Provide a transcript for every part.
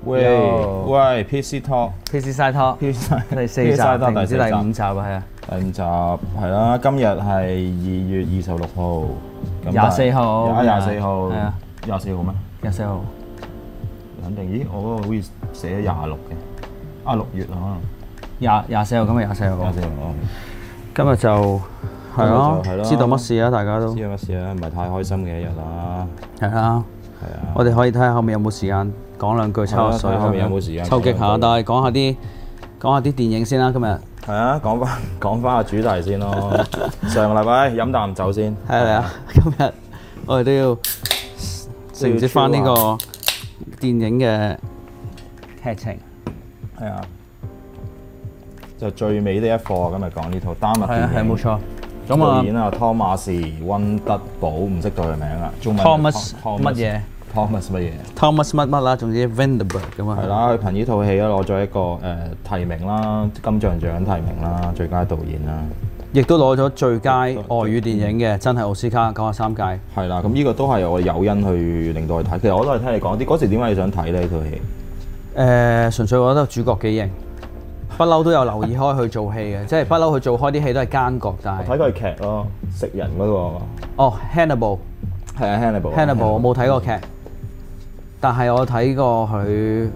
喂 ，PC Talk，PC Side Talk，第4集定唔知第5集啊？係啊， 第5集係啦。今日係2月26號 ，24號 ，24號， 係啊 ，24號咩 ？24號， 肯定。咦，我嗰個好似寫咗26嘅，6月啊，可能 24號，今日24號。 24號， 今日就係咯，知道乜事啊？大家都知道乜事啊？唔係太開心嘅一日啦。 係啊。我哋可以睇下後面有冇時間講兩句抽下水， 後面有冇時間抽擊下，但係講下啲電影先啦。今日係啊，講翻個主題先咯。上個禮拜飲啖酒先。 係啊，今日我哋都要承接翻呢個電影嘅劇情。 係啊，就最美的一課。今日講呢套丹麥電影。 係冇錯。 咁啊，導演啊，湯馬士溫德堡，唔識讀佢名啊。中文 Thomas 乜嘢 ？Thomas 乜嘢 ？Thomas 乜啦，總之 Vinterberg 咁啊。 係啦，佢憑呢套戲咧攞咗一個提名啦，金像獎提名啦，最佳導演啦， 亦都攞咗最佳外語電影嘅，真係奧斯卡93屆。 係啦，咁呢個都係我誘因去令到佢睇。其實我都係聽你講啲嗰時點解你想睇呢套戲？ 純粹我覺得主角幾型。不嬲都有留意開佢做戲嘅，即係不嬲佢做開啲戲都係奸角，但係我睇過佢劇咯，食人嗰個。 哦 ，Hannibal。係啊 ，Hannibal。我冇睇過劇，但係我睇過佢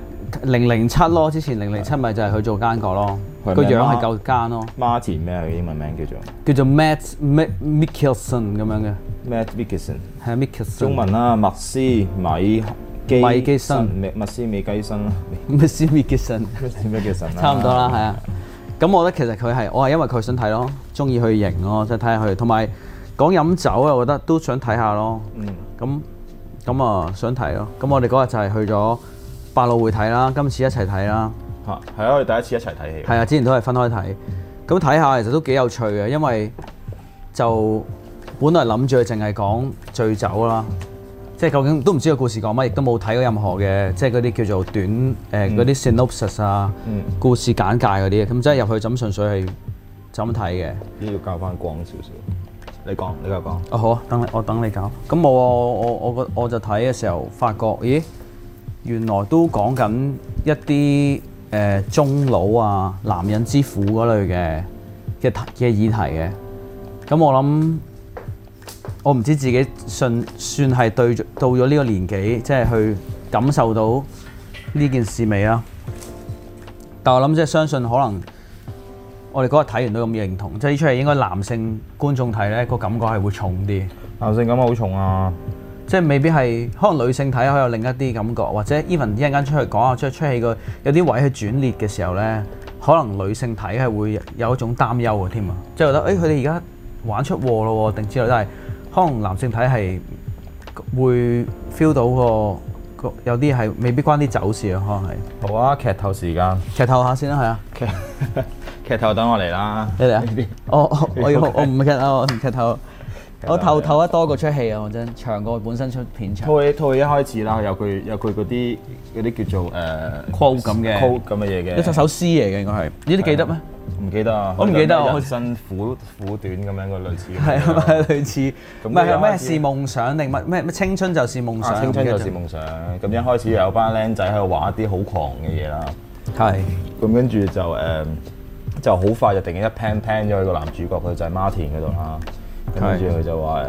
007咯，之前007咪就係佢做奸角咯，個樣係夠奸咯。 Martin 咩？佢英文名叫做 Matt Mikkelsen 咁樣嘅。 Matt Mikkelsen。係 Mikkelsen。 中文啦，麥斯米基森，麥斯米基森啦， 麥斯米基森，差唔多啦，係啊。咁我覺得其實我係因為佢想睇咯，中意佢型咯，即係睇下佢。同埋講飲酒啊，我覺得都想睇下咯。咁啊想睇咯。咁我哋嗰日就係去咗百老匯睇啦，今次一齊睇啦。 係啊，我哋第一次一齊睇戲。 係啊，之前都係分開睇。咁睇下其實都幾有趣嘅，因為就本來諗住佢淨係講醉酒啦。即係究竟都唔知個故事講乜，亦都冇睇過任何嘅，即係嗰啲叫做短嗰啲 synopsis 啊，故事簡介嗰啲，咁即係入去就咁純粹係就咁睇嘅。 呢要教翻光少少。你講，你繼續講。 哦好啊，我等你搞。咁我就睇嘅時候發覺，咦，原來都講緊一啲中老啊、男人之苦嗰類嘅議題嘅。咁我諗。我唔知自己算係到咗呢個年紀，即係去感受到呢件事未啊？但我諗即係相信可能我哋嗰日睇完都咁認同，即係呢出戲應該男性觀眾睇咧個感覺係會重啲。 男性感覺好重啊！ 即係未必係，可能女性睇可以有另一啲感覺，或者 even 一陣間出去講下出戲個有啲位去轉裂嘅時候咧，可能女性睇係會有一種擔憂嘅添啊！即係覺得佢哋而家玩出禍咯定之類都係。可能男性睇係會 feel 到個有啲係未必關啲酒事啊，可能係。 好啊，劇透時間。 劇透下先啦，係啊。 劇透等我嚟啦。 你嚟啊？我唔劇透，我唔劇透。我透得多過出戲啊！我真長過本身出片長。套戲一開始啦，有佢嗰啲叫做quote 咁嘅 quote 咁嘅嘢嘅。 一首詩嚟嘅應該係。呢啲記得咩？ 唔記得啊！ 我唔記得人生苦短咁樣個類似。 係啊，類似。唔係咩是夢想定咩青春就是夢想？ 青春就是夢想。咁一開始有班僆仔喺度玩一啲好狂嘅嘢啦。 係。咁跟住就好快就突然間一 pan 咗佢個男主角，佢就係 Martin 嗰度啦。跟住佢就話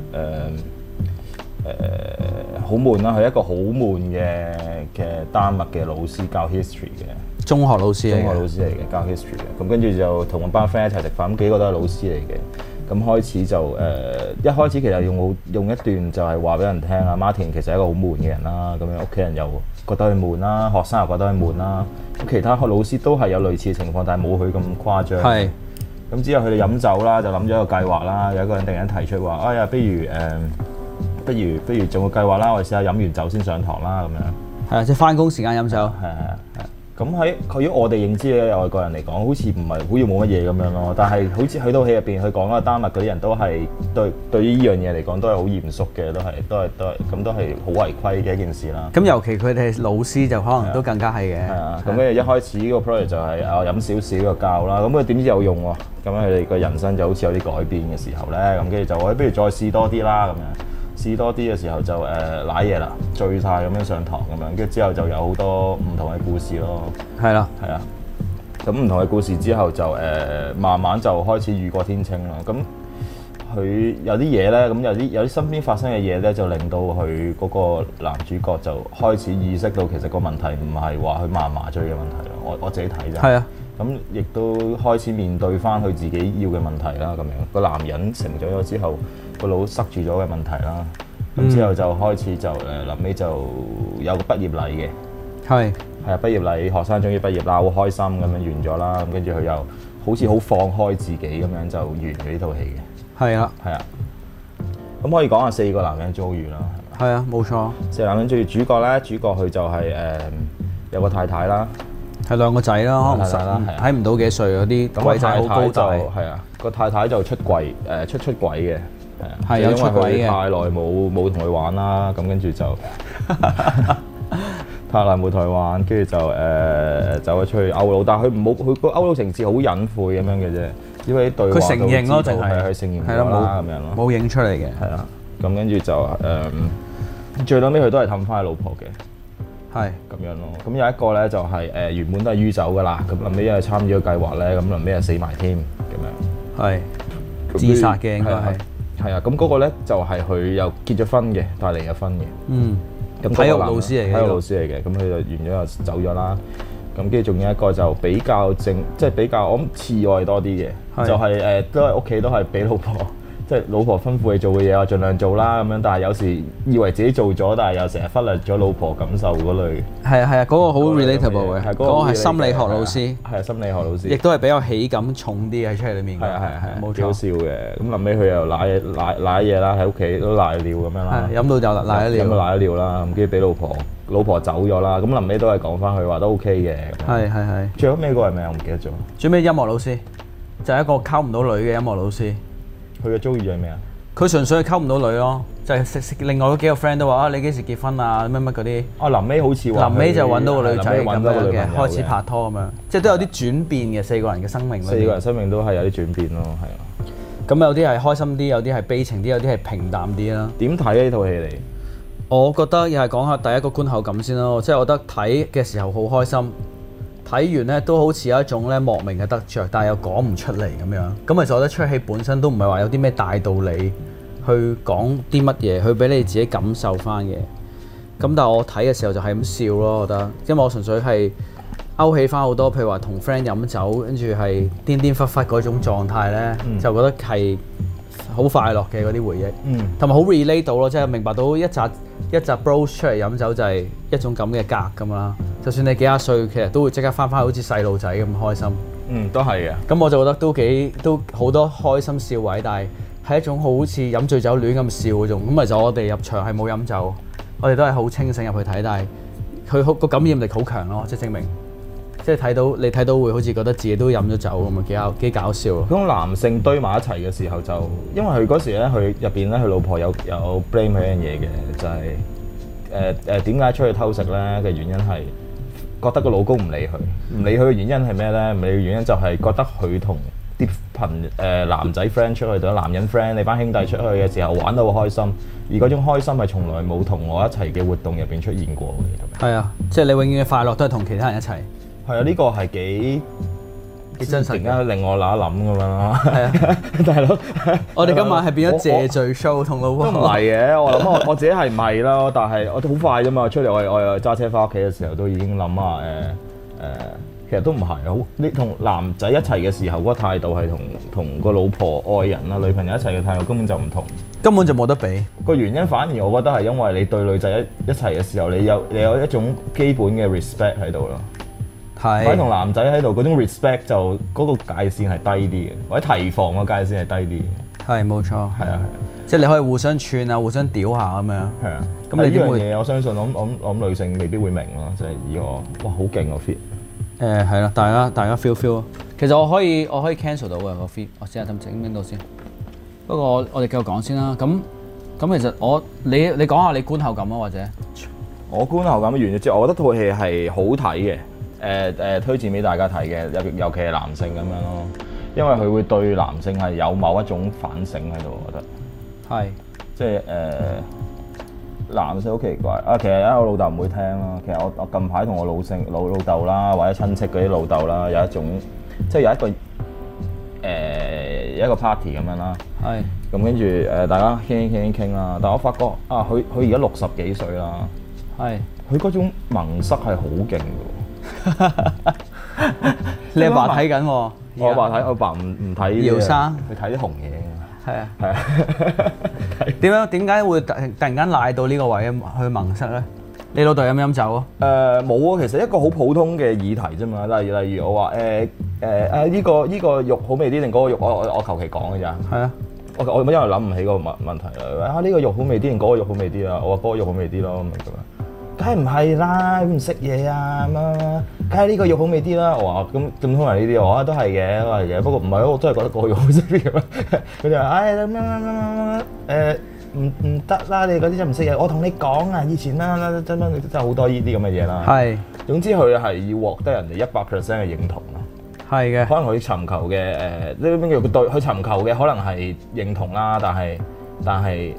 好悶啦，佢一個好悶嘅丹麥嘅老師教 history 嘅中學老師嚟嘅教 history 嘅。咁跟住就同班 friend 一齊食飯，咁幾個都係老師嚟嘅。咁開始就一開始其實用一段就係話俾人聽啊，Martin 其實係一個好悶嘅人啦。咁樣屋企人又覺得佢悶啦，學生又覺得佢悶啦。咁其他老師都係有類似嘅情況，但係冇佢咁誇張。係。咁之後佢哋飲酒啦，就諗咗一個計劃啦。有一個人突然間提出話：哎呀，不如做個計劃啦，我哋試下飲完酒先上堂啦，咁樣。係啊，即係翻工時間飲酒。係。咁喺我哋認知嘅外國人嚟講，好似唔係好似冇乜嘢咁樣咯。但係好似去到戲入邊，佢講啦，丹麥嗰啲人都係對於呢樣嘢嚟講都係好嚴肅嘅，都係好違規嘅一件事啦。 咁尤其佢哋老師就可能都更加係嘅。係啊。咁跟住一開始呢個 project 就係飲少少嘅教啦。咁佢點知有用喎？咁樣佢哋個人生就好似有啲改變嘅時候咧，咁跟住就不如再試多啲啦咁樣。 試多啲嘅時候就瀨嘢啦，醉晒咁樣上堂咁樣，跟住之後就有好多唔同嘅故事咯。 係啦， 係啊。咁唔同嘅故事之後就慢慢就開始雨過天晴啦。咁佢有啲嘢咧，咁有啲身邊發生嘅嘢咧，就令到佢嗰個男主角就開始意識到其實個問題唔係話佢麻醉嘅問題咯。我自己睇啫。係啊。咁亦都開始面對翻佢自己要嘅問題啦。咁樣個男人成長咗之後，個腦塞住咗嘅問題啦。咁之後就開始就臨尾就有個畢業禮嘅。係啊，畢業禮學生終於畢業啦，好開心咁樣完咗啦。咁跟住佢又好似好放開自己咁樣就完咗呢套戲嘅。係啊，係啊。咁可以講下4個男人遭遇啦。係啊，冇錯。4個男人遭遇，主角咧，主角佢就係有個太太啦。係2個仔啦，可能睇唔到幾歲嗰啲鬼仔好高大。係啊，個太太就出軌出軌嘅，係啊，係有出軌嘅。太耐冇同佢玩啦，咁跟住就太耐冇同佢玩，跟住就走咗出去勾佬，但係佢個勾佬情節好隱晦咁樣嘅啫，因為啲對話佢承認咯，淨係佢承認咗啦咁樣咯，冇影出嚟嘅。係啊，咁跟住就最撚尾佢都係氹翻佢老婆嘅。係咁樣咯，咁有一個咧就係原本都係酗酒噶啦，咁臨尾因為參與咗計劃咧，咁臨尾又死埋添，咁樣。係自殺嘅應該係。係啊，咁嗰個咧就係佢又結咗婚嘅，但係離咗婚嘅。嗯。咁體育老師嚟嘅。體育老師嚟嘅，咁佢就完咗又走咗啦。咁跟住仲有一個就比較即係比較我諗次愛多啲嘅，就係都係屋企都係俾老婆。即係老婆吩咐你做嘅嘢，我盡量做啦咁樣。但係有時以為自己做咗，但係又成日忽略咗老婆感受嗰類。係啊，嗰個好 relatable 嘅，嗰個係心理學老師。係啊，心理學老師。亦都係比較喜感重啲喺出嚟裡面。係啊，冇錯。幾好笑嘅。咁臨尾佢又瀨嘢啦，喺屋企都瀨尿咁樣啦。飲到就瀨咗尿。飲到瀨咗尿啦，咁跟住俾老婆走咗啦。咁臨尾都係講翻佢話都 OK 嘅。係。最後尾個係咩？我唔記得咗。最尾音樂老師就係一個溝唔到女嘅音樂老師。佢嘅遭遇係咩啊？佢純粹係溝唔到女咯，就係另外嗰幾個 friend 都話啊，你幾時結婚啊？乜嗰啲。啊，臨尾好似話。臨尾就揾到個女仔咁樣嘅，開始拍拖咁樣，即係都有啲轉變嘅4個人嘅生命。4個人生命都係有啲轉變咯，係啊。咁有啲係開心啲，有啲係悲情啲，有啲係平淡啲啦。點睇呢套戲嚟？我覺得又係講下第一個觀後感先咯，即係我覺得睇嘅時候好開心。睇完咧都好似有一種咧莫名嘅得着，但係又講唔出嚟咁樣。咁其實我覺得出戲本身都唔係話有啲咩大道理去講啲乜嘢，去俾你自己感受翻嘅。咁但係我睇嘅時候就係咁笑咯，我覺得，因為我純粹係勾起翻好多，譬如話同 friend 飲酒，跟住係顛顛忽忽嗰種狀態咧，就覺得係好快樂嘅嗰啲回憶，同埋好 relate 到咯，即係明白到一集 bros 出嚟飲酒就係一種咁嘅格咁啦。就算你幾廿歲，其實都會即刻翻去好似細路仔咁開心。都係嘅。咁我就覺得都好多開心笑位，但係係一種好似飲醉酒亂咁笑嗰種。咁其實我哋入場係冇飲酒，我哋都係好清醒入去睇，但係佢個感染力好強咯，即係證明，即係你睇到會好似覺得自己都飲咗酒咁啊，幾搞笑咯。咁男性堆埋一齊嘅時候就，因為佢嗰時咧，佢入邊咧，佢老婆有 blame 佢一樣嘢嘅，就係點解出去偷食咧嘅原因係。覺得個老公唔理佢嘅原因係咩咧？唔理嘅原因就係覺得佢同啲男仔 friend 出去，同男人 friend，你班兄弟出去嘅時候玩得好開心，而嗰種開心係從來冇同我一齊嘅活動入邊出現過嘅。係啊，即係你永遠嘅快樂都係同其他人一齊。係啊，呢個係幾真實，突然間令我諗一諗咁樣咯。係啊，大佬，我哋今晚係變咗謝罪 show 同老婆。都唔係嘅，我諗我自己係唔係咯，但係我都好快啫嘛。出嚟我又揸車翻屋企嘅時候都已經諗下其實都唔係好。你同男仔一齊嘅時候嗰個態度係同個老婆愛人啊女朋友一齊嘅態度根本就唔同，根本就冇得比。個原因反而我覺得係因為你對女仔一齊嘅時候，你有一種基本嘅 respect 喺度咯。喺同男仔喺度嗰種 respect 就嗰個界線係低啲嘅，或者提防個界線係低啲嘅。係冇錯，係啊，即係你可以互相串啊，互相屌下咁樣。係啊，咁你呢樣嘢我相信我諗女性未必會明咯，即係以我哇好勁個 fit。係啦，大家 feel。其實我可以 cancel 到嘅個 fit， 我試下整邊度先。不過我哋繼續講先啦。咁其實你講下你觀後感啊，或者我觀後感嘅原因，即係我覺得套戲係好睇嘅。推薦俾大家睇嘅，尤其係男性咁樣咯，因為佢會對男性係有某一種反省喺度，我覺得係， 即係男性好奇怪啊！其實我老豆唔會聽啦。其實我近排同我老豆啦，或者親戚嗰啲老豆啦，有一種即係有一個 party 咁樣啦。 係。咁跟住大家傾啦。但我發覺啊，佢而家60幾歲啦。 係。佢嗰種萌塞係好勁嘅喎。 你阿爸睇緊喎？ 我阿爸唔睇。姚生。佢睇啲紅嘢。 係啊。係啊。點解會突然間賴到呢個位去萌塞咧？你老豆飲唔飲酒啊？ 冇啊，其實一個好普通嘅議題啫嘛。例如我話呢個肉好味啲定嗰個肉，我求其講嘅咋。係啊。我因為諗唔起個問題啦。呢個肉好味啲定嗰個肉好味啲啊？我話嗰個肉好味啲咯，咁樣。梗係唔係啦，唔識嘢啊咁啊，梗係呢個肉好味啲啦。我話咁通常呢啲，我話都係嘅，都係嘅。不過唔係咯，我真係覺得嗰個肉好食啲咁樣。佢就話唔得啦，你嗰啲真唔識嘢。我同你講啊，以前啦真係好多呢啲咁嘅嘢啦。係。總之佢係要獲得人哋100% 嘅認同咯。係嘅。可能佢尋求嘅呢邊叫對，佢尋求嘅可能係認同啦，但係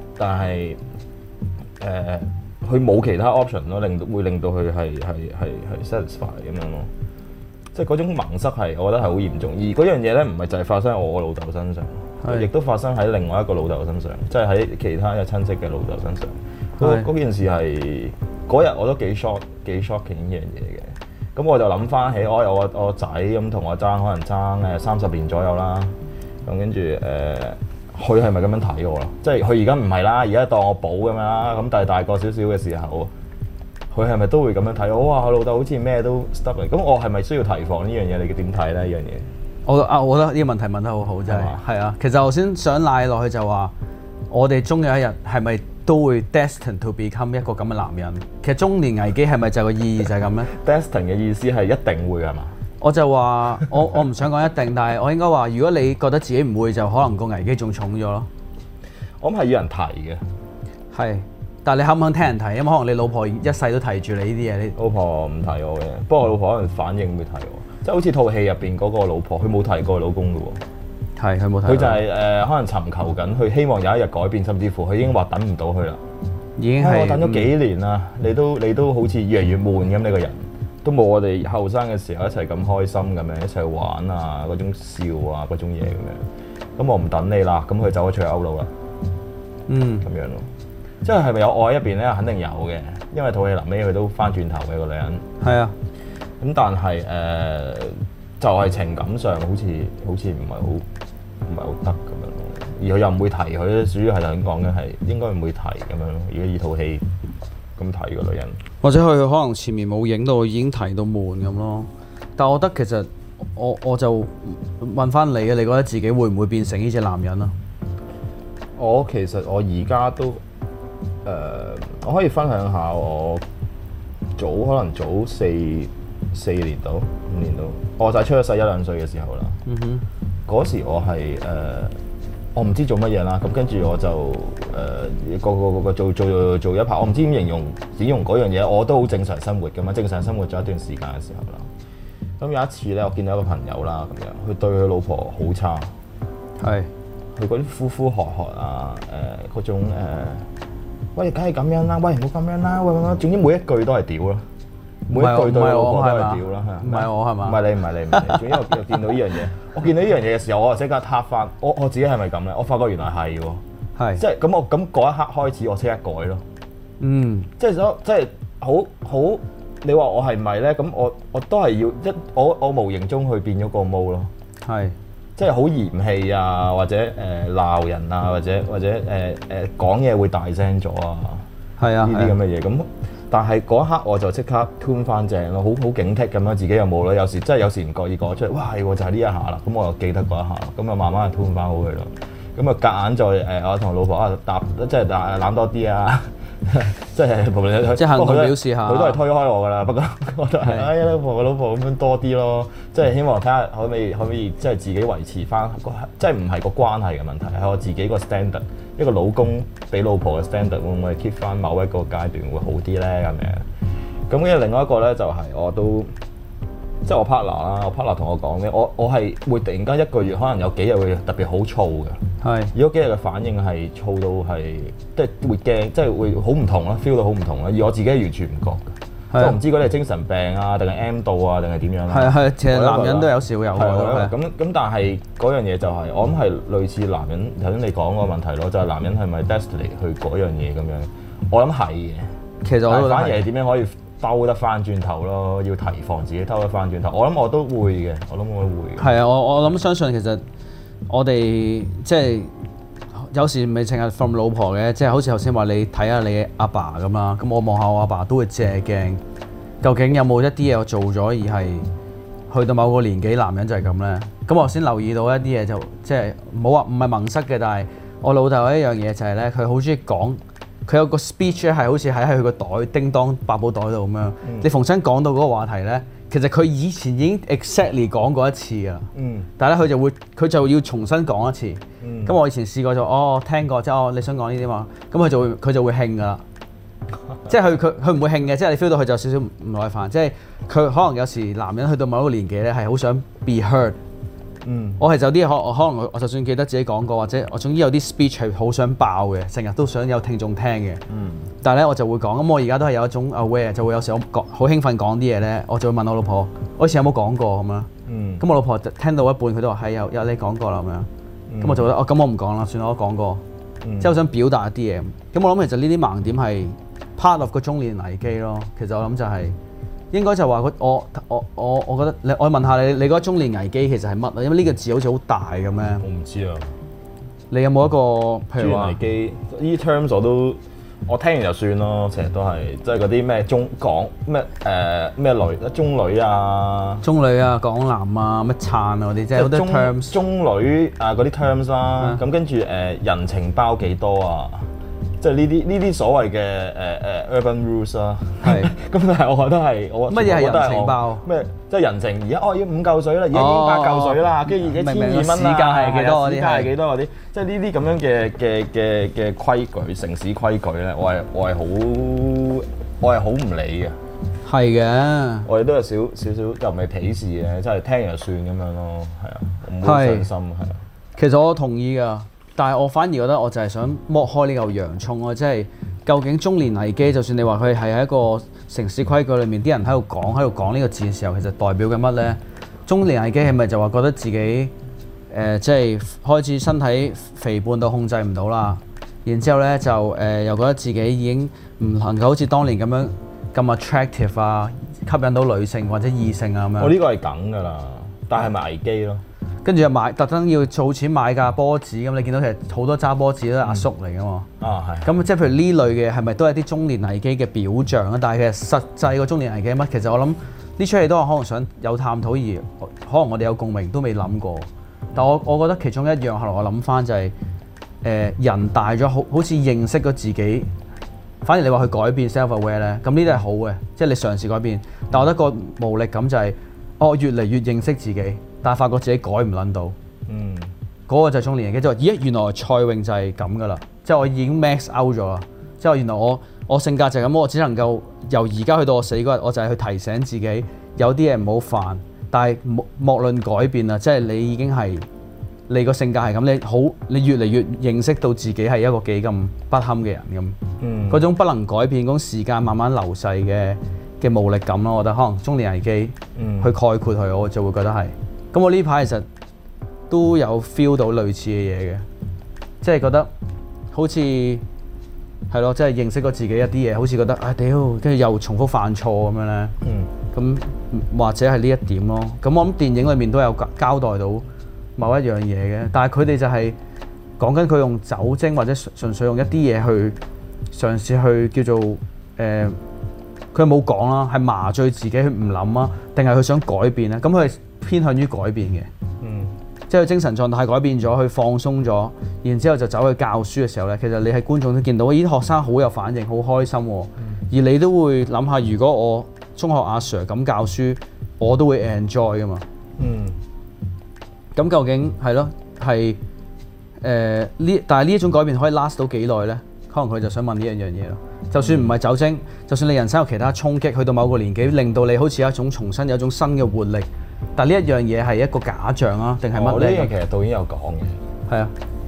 佢冇其他 option 咯，會令到佢係 satisfy 咁樣咯。即係嗰種萌塞係，我覺得係好嚴重。而嗰樣嘢咧，唔係就係發生喺我老豆身上，亦都發生喺另外一個老豆身上，即係喺其他嘅親戚嘅老豆身上。嗰件事係嗰日我都幾 shocking 呢樣嘢嘅。咁我就諗翻起，我有我仔咁同我爭，可能爭30年左右啦。咁跟住佢係咪咁樣睇我咯？即係佢而家唔係啦，而家當我寶咁樣啦。咁但係大個少少嘅時候，佢係咪都會咁樣睇我？哇！我老豆好似咩都 stop 嚟。咁我係咪需要提防呢樣嘢？你點睇咧？呢樣嘢？ 我覺得呢個問題問得好好，真係。係啊，其實我先想賴落去就話，我哋終有一日係咪都會 destined to become 一個咁嘅男人？其實中年危機係咪就個意義就係咁咧 ？destined 嘅意思係一定會係嘛？ 我就話我唔想講一定，但係我應該話，如果你覺得自己唔會，就可能個危機仲重咗咯。 我諗係要人提嘅， 係，但係你肯唔肯聽人提？因為可能你老婆一世都提住你呢啲嘢。你老婆唔提我嘅，不過我老婆可能反應會提我，即係好似套戲入邊嗰個老婆，佢冇提過老公嘅喎。係，佢冇提。佢就係可能尋求緊，佢希望有一日改變，甚至乎佢已經話等唔到佢啦。已經係我等咗幾年啦，你都好似越嚟越悶咁，你個人。都冇我哋後生嘅時候一齊咁開心咁樣，一齊玩啊，嗰種笑啊，嗰種嘢咁樣。咁我唔等你啦，咁佢走咗出去歐陸啦。咁樣咯。即係係咪有愛一邊咧？肯定有嘅，因為套戲臨尾佢都翻轉頭嘅個女人。係啊。咁但係就係情感上好似唔係好得咁樣咯。而佢又唔會提佢，主要係咁講嘅係應該唔會提咁樣咯。如果呢套戲咁睇個女人， 或者佢可能前面冇影到，已經提到悶咁咯。但係我覺得其實我就問翻你嘅，你覺得自己會唔會變成呢隻男人啊？ 其實我而家都我可以分享下我可能早4年到5年到，我就係出咗世1-2歲嘅時候啦。嗰時我係我唔知做乜嘢啦，咁跟住我就個做一排，我唔知點形容嗰樣嘢，我都好正常生活㗎嘛，正常生活咗一段時間嘅時候啦。咁有一次咧，我見到一個朋友啦，咁樣佢對佢老婆好差，係佢嗰啲呼呼喝喝啊，嗰種喂，梗係咁樣啦，喂，唔好咁樣啦，喂，總之每一句都係屌啦，每一句對老婆都係屌啦，係唔係我係嘛？唔係你，總之我見到呢樣嘢，我見到呢樣嘢嘅時候，我就即刻撻翻，我自己係咪咁咧？我發覺原來係喎，係即係咁我咁嗰一刻開始，我即刻改咯，即係好，你話我係咪咧？咁我都係要我無形中去變咗個毛咯，係即係好嫌棄啊，或者鬧人啊，或者講嘢會大聲咗啊，係啊，呢啲咁嘅嘢咁。但係嗰一刻我就即刻 tune 翻正咯，好警惕咁樣，自己又冇啦。有時唔覺意講出嚟，哇係喎，就係呢一下啦。咁我又記得嗰一下，咁啊慢慢 tune 翻好佢咯。咁啊夾硬再我同老婆即係攬多啲啊，即係無論佢即係行動表示下，佢都係推開我㗎啦。不過我都係哎呀老婆咁樣多啲咯，即係希望睇下可唔可以即係自己維持翻即係唔係個關係嘅問題，係我自己個 standard。一個老公俾老婆嘅 standard 會唔會 keep 翻某一個階段會好啲咧咁樣？咁跟住另外一個咧就係我都即係我 partner 啦，我 partner 同我講咧，我係會突然間一個月可能有幾日會特別好燥嘅， 係。如果幾日嘅反應係燥到係，即係會驚，即係會好唔同咯 ，feel 到好唔同咯。而我自己係完全唔覺嘅，即係我唔知嗰啲係精神病啊，定係 M 度啊，定係點樣啦。 係，其實男人都有時會有嘅。 咁但係嗰樣嘢就係，我諗係類似男人頭先你講個問題咯，就係男人係咪 destiny 去嗰樣嘢咁樣？我諗係嘅。 其實我反而係點樣可以兜得翻轉頭咯？要提防自己兜得翻轉頭。我諗我都會嘅，我諗我都會。係啊，我諗相信其實我哋即係有時未淨係 from 老婆嘅，即係好似頭先話你睇下你阿爸咁啦。咁我望下我阿爸都會借鏡，究竟有冇一啲嘢我做咗而係去到某個年紀，男人就係咁咧。咁我先留意到一啲嘢就即係冇話唔係蒙塞嘅，但係我老豆有一樣嘢就係咧，佢好中意講。佢有個 speech 咧，係好似喺佢個袋叮當百寶袋度咁樣。你逢親講到嗰個話題咧，其實佢以前已經 exactly 講過一次㗎啦。但係咧佢就要重新講一次。咁我以前試過就聽過，即係你想講呢啲嘛？咁佢就會興㗎啦。即係佢唔會興嘅，即係你 feel 到佢就有少少唔耐煩。即係佢可能有時男人去到某一個年紀咧，係好想 be heard。我係有啲可能我就算記得自己講過，或者我總之有啲 speech 係好想爆嘅，成日都想有聽眾聽嘅。但係咧我就會講，咁我而家都係有一種 aware，就會有時我好興奮講啲嘢咧，我就會問我老婆，我以前有冇講過咁樣？咁我老婆聽到一半，佢都話係有你講過啦咁樣。咁我就覺得咁我唔講啦，算啦，我講過。即係我想表達一啲嘢。咁我諗其實呢啲盲點係 part of 個中年危機咯。其實我諗就係。應該就話我覺得我問下你覺得中年危機其實係乜啊？因為呢個字好似好大咁咩？ 我唔知啊。 你有冇一個譬如話中年危機呢 terms 我聽完就算咯，成日都係即係嗰啲咩中港咩女中女啊、 港男啊、乜撐啊嗰啲，即係好多 terms。中女啊嗰啲 terms 啦，咁跟住人情包幾多啊？即係呢啲所謂嘅urban rules 啦，係咁，但係我覺得係乜嘢係人情包？ 咩即係人情？而家要5嚿水啦，而家已經8嚿水啦，跟住而家1200蚊啦， 市價係幾多嗰啲？ 市價係幾多嗰啲？即係呢啲咁樣嘅規矩，城市規矩咧，我係好唔理嘅。 係嘅， 我哋都有少少又唔係鄙視嘅，即係聽完就算咁樣咯，係啊，唔好傷心係啊。 其實我同意㗎。但係我反而覺得我就係想剝開呢嚿洋葱咯，即係究竟中年危機，就算你話佢係喺一個城市規矩裏面，啲人喺度講呢個字嘅時候，其實代表緊乜呢？中年危機係咪就話覺得自己即係開始身體肥胖到控制唔到啦？然之後呢，就又覺得自己已經唔能夠好似當年咁樣咁 attractive 啊，吸引到女性或者異性啊咁樣。 我呢個係梗㗎啦，但係咪危機咯？ 跟住又特登要儲錢買架波子咁，你見到其實好多揸波子都係阿叔嚟㗎嘛。係。咁即係譬如呢類嘅係咪都係啲中年危機嘅表象啊？但係其實實際個中年危機乜？其實我諗呢出戲都係可能想有探討，而可能我哋有共鳴都未諗過。但我覺得其中一樣後來我諗翻就係人大咗好似認識咗自己。反而你話去改變 self-aware 咧，咁呢啲係好嘅，即係你嘗試改變。但我覺得個無力感就係我越嚟越認識自己。但係發覺自己改唔撚到，嗰個就係中年危機，即係咦原來蔡穎就係咁噶啦，即係我已經 max out 咗啦，即係原來我性格就係咁，我只能夠由而家去到我死嗰日，我就係去提醒自己有啲嘢唔好犯，但係莫論改變啦，即係你已經係你個性格係咁，你越嚟越認識到自己係一個幾咁不堪嘅人咁，嗰種不能改變嗰種時間慢慢流逝嘅無力感咯，我覺得可能中年危機去概括佢，我就會覺得係。咁我呢排其實都有 feel 到類似嘅嘢嘅，即係覺得好似係咯，即係認識過自己一啲嘢，好似覺得屌，跟住又重複犯錯咁樣咧。咁或者係呢一點咯。咁我諗電影裏面都有交代到某一樣嘢嘅，但係佢哋就係講緊佢用酒精或者純粹用一啲嘢去嘗試去叫做佢冇講啦，係麻醉自己去唔諗啊，定係佢想改變咧？咁佢係偏向於改變嘅，即係佢精神狀態改變咗，佢放鬆咗，然之後就走去教書嘅時候咧，其實你係觀眾都見到，呢啲學生好有反應，好開心喎。而你都會諗下，如果我中學阿 Sir 咁教書，我都會 enjoy 噶嘛。咁究竟係咯，係但係呢一種改變可以 last 到幾耐咧？可能佢就想問呢樣嘢咯。就算唔係酒精，就算你人生有其他衝擊，去到某個年紀，令到你好似有一種重新有一種新嘅活力，但呢一樣嘢係一個假象啊，定係乜咧？ 呢樣其實導演有講嘅。 係啊，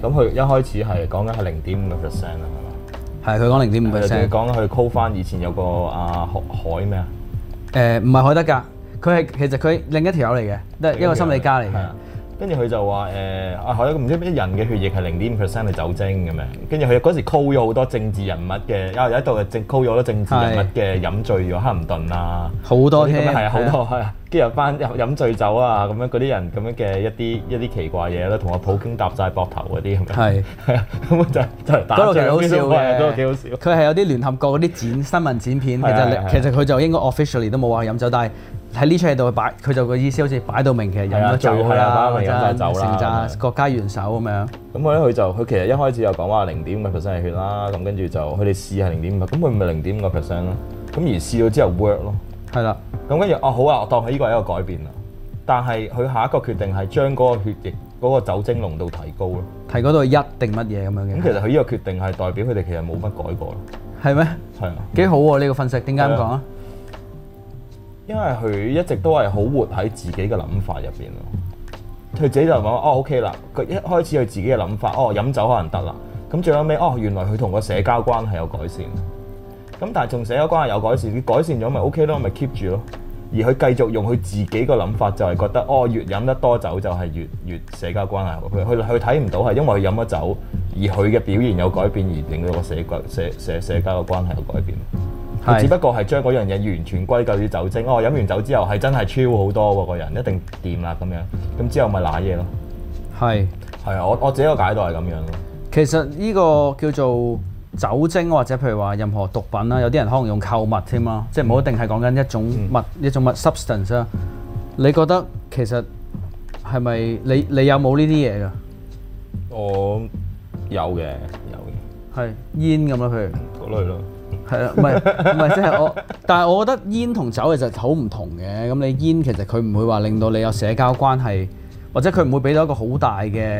咁佢一開始係講緊係0.5%啊，係嘛？ 係佢講0.5%。 講緊佢 call 翻以前有個海咩啊？ 唔係海德格，其實佢另一條友嚟嘅，都係一個心理家嚟嘅。 跟住佢就話海德格唔知咩人嘅血液係0.5% 係酒精咁樣。跟住佢嗰時 call 咗好多政治人物嘅，有一度係call 咗好多政治人物嘅飲醉咗，克林頓啊， 好多添， 係啊，好多係啊。跟住有班飲醉酒啊，咁樣嗰啲人咁樣嘅一啲奇怪嘢啦，同阿普京搭晒膊頭嗰啲咁樣。係啊，咁就打仗。嗰度幾好笑嘅，嗰度幾好笑。佢係有啲聯合國嗰啲新聞剪片，其實佢就應該 officially 都冇話飲酒，但係喺呢出戲度擺，佢就個意思好似擺到明，其實飲咗酒啦，或者成扎國家元首咁樣。咁佢其實一開始又講話0.5% 係血啦，咁跟住就佢哋試係0.5%，咁佢咪0.5%咯。咁而試咗之後 work 咯。係啦。咁跟住好啊，我當佢呢個係一個改變啦。但係佢下一個決定係將嗰個血液嗰個酒精濃度提高咯。提高到1定乜嘢咁樣嘅。咁其實佢呢個決定係代表佢哋其實冇乜改過咯。係咩？係啊。幾好喎呢個分析，點解咁講啊？因為佢一直都係好活喺自己嘅諗法入邊咯。佢自己就講OK 啦。佢一開始佢自己嘅諗法，飲酒可能得啦。咁最後尾原來佢同個社交關係有改善。咁但係同社交關係有改善，佢改善咗咪 OK 咯，咪 keep 住咯。而佢繼續用佢自己個諗法，就係覺得越飲得多酒就係越社交關係好。佢睇唔到係因為佢飲咗酒，而佢嘅表現有改變，而令到個社交嘅關係有改變。佢只不過係將嗰樣嘢完全歸咎於酒精。飲完酒之後係真係超好多喎，個人一定掂啦咁樣。咁之後咪瀨嘢咯。係啊，我自己個解讀係咁樣咯。其實呢個叫做酒精或者譬如話任何毒品啦，有啲人可能用購物添啦，即係唔一定係講緊一種物 substance 啊。你覺得其實係咪你有冇呢啲嘢㗎？我有嘅。係煙咁咯，譬如嗰類咯。係啊，唔係即係我，但係我覺得煙同酒其實好唔同嘅。咁你煙其實佢唔會話令到你有社交關係，或者佢唔會俾到一個好大嘅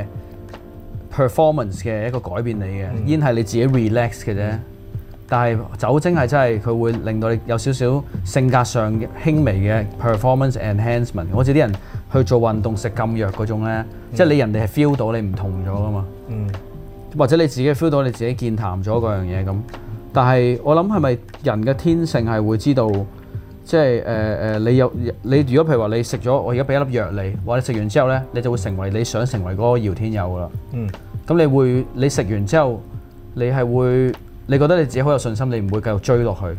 performance 嘅一個改變你嘅。煙係你自己 relax 嘅啫。但係酒精係真係佢會令到你有少少性格上輕微嘅 performance enhancement。好似啲人去做運動食禁藥嗰種咧，即係你人哋係 feel 到你唔同咗噶嘛。或者你自己 feel 到你自己健談咗嗰樣嘢咁。但係我諗係咪人嘅天性係會知道，即係你如果譬如話你食咗我而家俾一粒藥你，或者食完之後咧，你就會成為你想成為嗰個姚天佑噶啦。咁你食完之後，你覺得你自己好有信心，你唔會繼續追落去。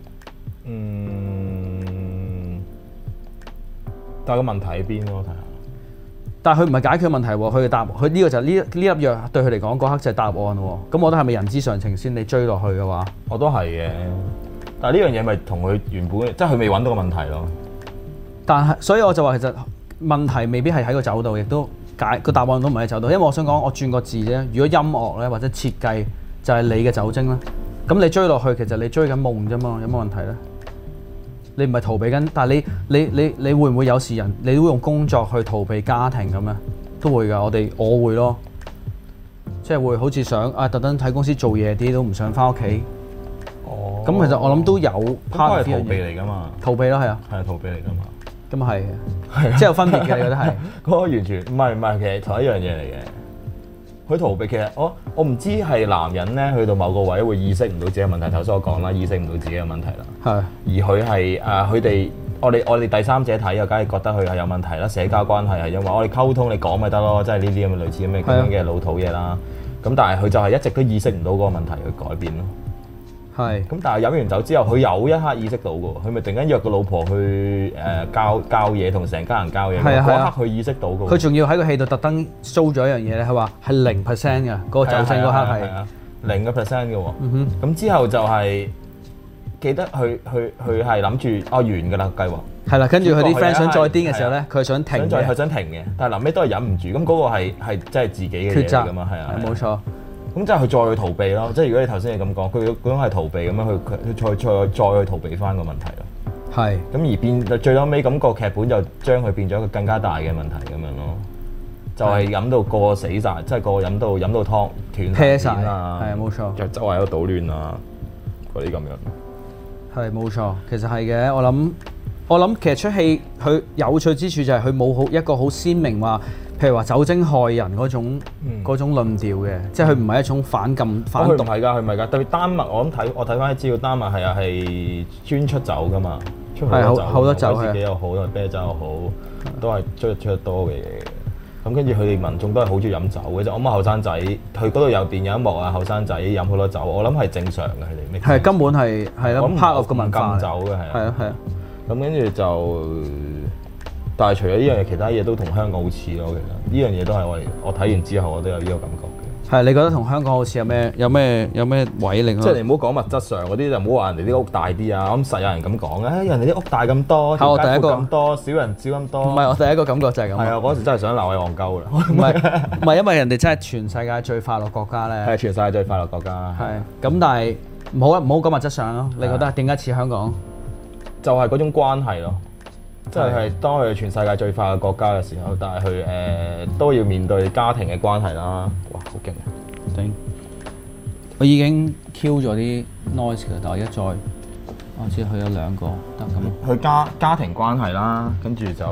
但係個問題喺邊咯？睇下。但係佢唔係解決問題喎，佢嘅答案，佢呢個就係呢粒藥對佢嚟講嗰刻就係答案喎。咁我覺得係咪人之常情先？你追落去嘅話，我都係嘅。但係呢樣嘢咪同佢原本，即係佢未揾到個問題咯。但係所以我就話其實問題未必係喺個酒度，亦都個答案都唔係喺酒度。因為我想講，我轉個字啫。如果音樂咧或者設計就係你嘅酒精啦，咁你追落去其實你追緊夢啫嘛，有乜問題咧？你唔係逃避緊，但係你會唔會有時你都會用工作去逃避家庭咁咧？都會㗎，我會咯，即係會好似想特登喺公司做嘢啲，都唔想翻屋企。咁其實我諗都有 part 係逃避嚟㗎嘛。逃避咯，係啊。係啊，逃避嚟㗎嘛。咁啊係，即係有分別嘅，你覺得係？嗰個完全唔係，其實同一樣嘢嚟嘅。佢逃避其實我唔知係男人咧去到某個位會意識唔到自己嘅問題，頭先我講啦，意識唔到自己嘅問題啦。係。而佢係佢哋我哋第三者睇啊，梗係覺得佢係有問題啦。社交關係係因為我哋溝通，你講咪得咯，即係呢啲咁嘅類似咁嘅老土嘢啦。咁但係佢就係一直都意識唔到嗰個問題去改變咯。係。咁但係飲完酒之後，佢有一刻意識到嘅喎，佢咪突然間約個老婆去交嘢，同成家人交嘢。係啊。嗰刻佢意識到嘅。佢仲要喺個戲度特登 show 咗一樣嘢咧，佢話係0% 嘅嗰個酒精嗰刻係0% 嘅喎。咁之後就係記得佢係諗住完㗎啦計劃。係啦，跟住佢啲 friend 想再癲嘅時候咧，佢想停嘅。佢想停嘅，但係臨尾都係忍唔住。咁嗰個係真係自己嘅嘢嚟㗎嘛，係啊。冇錯。咁即係佢再去逃避咯，即係如果你頭先係咁講，佢嗰種係逃避咁樣，佢再去逃避翻個問題咯。係。咁而變最後尾咁個劇本就將佢變咗一個更加大嘅問題咁樣咯，就係飲到個死晒，即係個飲到湯斷晒啊，係啊冇錯，就周圍喺度搗亂啊嗰啲咁樣。係冇錯，其實係嘅，我諗我諗其實出戲佢有趣之處就係佢冇一個好鮮明話，譬如話酒精害人嗰種論調嘅，即係佢唔係一種反禁反毒。佢唔係㗎， 佢唔係㗎。特別丹麥，我睇翻啲資料，丹麥係專出酒㗎嘛，出好多酒，威士忌又好，啤酒又好，都係出得多嘅嘢。咁跟住佢哋民眾都係好中意飲酒嘅啫。我諗後生仔，佢嗰度有電影一幕啊，後生仔飲好多酒，我諗係正常嘅佢哋。係根本係咯 part of 個文化。禁酒嘅係啊。咁跟住就，但係除咗呢樣嘢，其他嘢都同香港好似咯。其實呢樣嘢都係我睇完之後，我都有呢個感覺嘅。係，你覺得同香港好似有咩位令？即係你唔好講物質上嗰啲，就唔好話人哋啲屋大啲啊。咁實有人咁講嘅，人哋啲屋大咁多，條街闊咁多，少人少咁多。唔係，我第一個感覺就係咁。係啊，嗰時真係想鬧佢戇鳩啦。唔係，因為人哋真係全世界最快樂國家咧。係全世界最快樂國家。係。咁但係唔好講物質上咯。你覺得點解似香港？就係嗰種關係咯，即係當佢全世界最快嘅國家嘅時候，但係佢都要面對家庭嘅關係啦。哇，好勁啊！頂！我已經 Q 咗啲 noise 嘅，但係一再，我知佢有兩個得咁。佢家庭關係啦，跟住就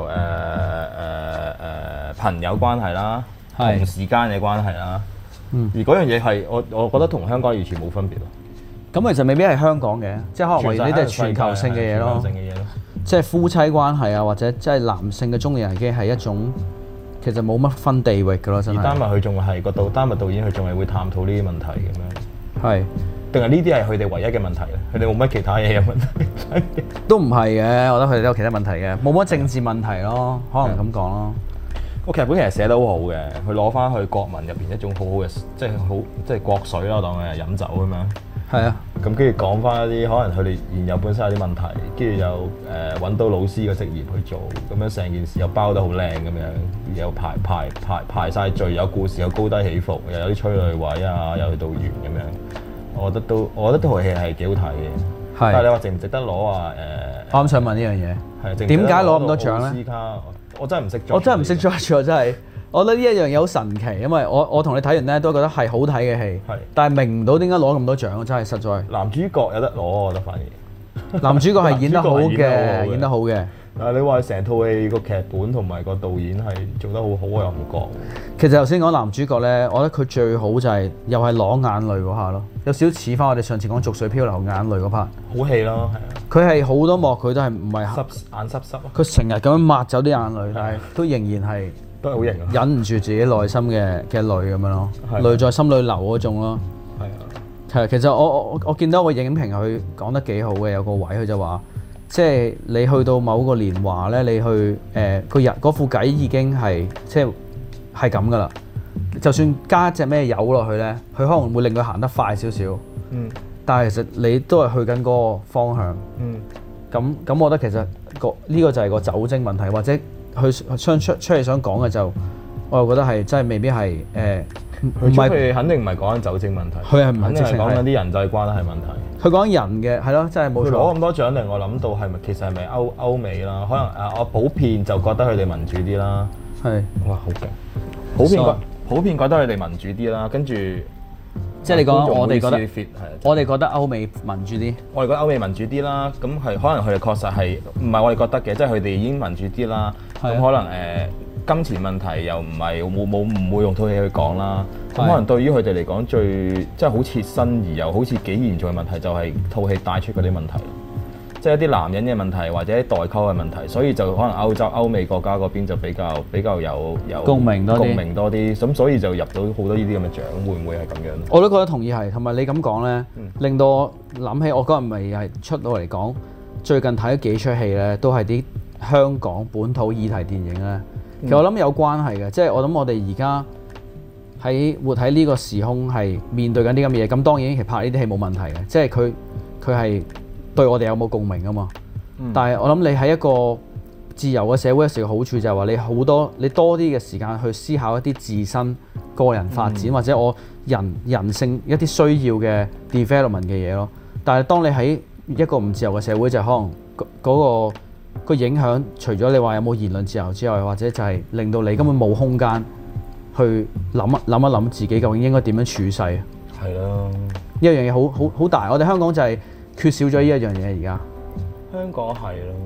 朋友關係啦，同時間嘅關係啦。而嗰樣嘢係我覺得同香港完全冇分別咯。咁其實未必係香港嘅，即係可能為呢啲係全球性嘅嘢咯。即係夫妻關係啊，或者即係男性嘅中年危機係一種其實冇乜分地域嘅咯，真係。而丹麥佢仲係丹麥導演，佢仲係會探討呢啲問題咁樣。係。定係呢啲係佢哋唯一嘅問題咧？佢哋冇乜其他嘢嘅問題。都唔係嘅，我覺得佢哋都有其他問題嘅，冇乜政治問題咯，可能咁講咯。個劇本其實寫得好好嘅，佢攞翻去國民入邊一種好好嘅，即係國水啦，當佢係飲酒咁樣。係啊，咁跟住講翻一啲可能佢哋現有本身有啲問題，跟住又揾到老師嘅職業去做，咁樣成件事又包得好靚咁樣，又排晒序，有故事，有高低起伏，又有啲催淚位啊，又去到完咁樣。我覺得套戲係幾好睇嘅。係。但係你話值唔值得攞啊？我啱想問呢樣嘢。係。點解攞咁多獎咧？奧斯卡，我真係唔識。我真係唔識 judge 真係。我覺得呢一樣嘢好神奇，因為我同你睇完咧都覺得係好睇嘅戲，但係明唔到點解攞咁多獎，真係實在。男主角有得攞，我覺得反而。男主角係演得好嘅，演得好嘅。但係你話成套戲個劇本同埋個導演係做得好好，我又唔覺。其實頭先講男主角咧，我覺得佢最好就係又係攞眼淚嗰下咯，有少少似翻我哋上次講《濁水漂流》眼淚嗰 part。好戲咯，係啊。佢係好多幕佢都係唔係眼濕濕。佢成日咁樣抹走啲眼淚，但係都仍然係。都係好型啊！忍唔住自己內心嘅淚咁樣咯，淚在心裏流嗰種咯。係啊，係其實我見到個影評佢講得幾好嘅，有個位佢就話，即係你去到某個年華咧，你去個人嗰副偈已經係即係咁噶啦。就算加隻咩油落去咧，佢可能會令佢行得快少少。嗯。但係其實你都係去緊嗰個方向。嗯。咁，我覺得其實呢個就係個酒精問題，或者。佢出嚟想講嘅就，我又覺得係真係未必係唔係佢肯定唔係講緊酒精問題，佢係唔係直情講緊啲人際關係問題。佢講人嘅係咯，真係冇錯。佢攞咁多獎令我諗到係咪其實係咪歐美啦？可能我普遍就覺得佢哋民主啲啦。係哇，好勁！普遍覺得佢哋民主啲啦，跟住即係你講我哋覺得歐美民主啲。我哋覺得歐美民主啲啦，咁係可能佢哋確實係唔係我哋覺得嘅，即係佢哋已經民主啲啦。咁可能金錢問題又唔會用套戲去講啦。咁可能對於佢哋嚟講最即係好切身而又好似幾嚴重嘅問題，就係套戲帶出嗰啲問題，即係一啲男人嘅問題或者代溝嘅問題，所以就可能歐美國家嗰邊就比較有共鳴多啲，咁所以就入到好多呢啲咁嘅獎，會唔會係咁樣？我都覺得同意係，同埋你咁講咧，令到我諗起我嗰日咪係出到嚟講，最近睇咗幾出戲咧，都係啲香港本土議題電影咧，其實我諗有關係嘅，即係我諗我哋而家活喺呢個時空係面對緊啲咁嘅嘢，咁當然其實拍呢啲戲冇問題嘅，即係佢係對我哋有冇共鳴啊嘛。但係我諗你喺一個自由嘅社會，有時嘅好處就係話你多啲嘅時間去思考一啲自身個人發展，或者我人性一啲需要嘅 development 嘅嘢咯。但係當你喺一個唔自由嘅社會，就可能嗰個影響，除咗你話有冇言論自由之外，或者就係令到你根本冇空間去諗一諗自己究竟應該點樣處世。係咯，呢一樣嘢好大。我哋香港就係缺少咗呢一樣嘢而家。香港係咯，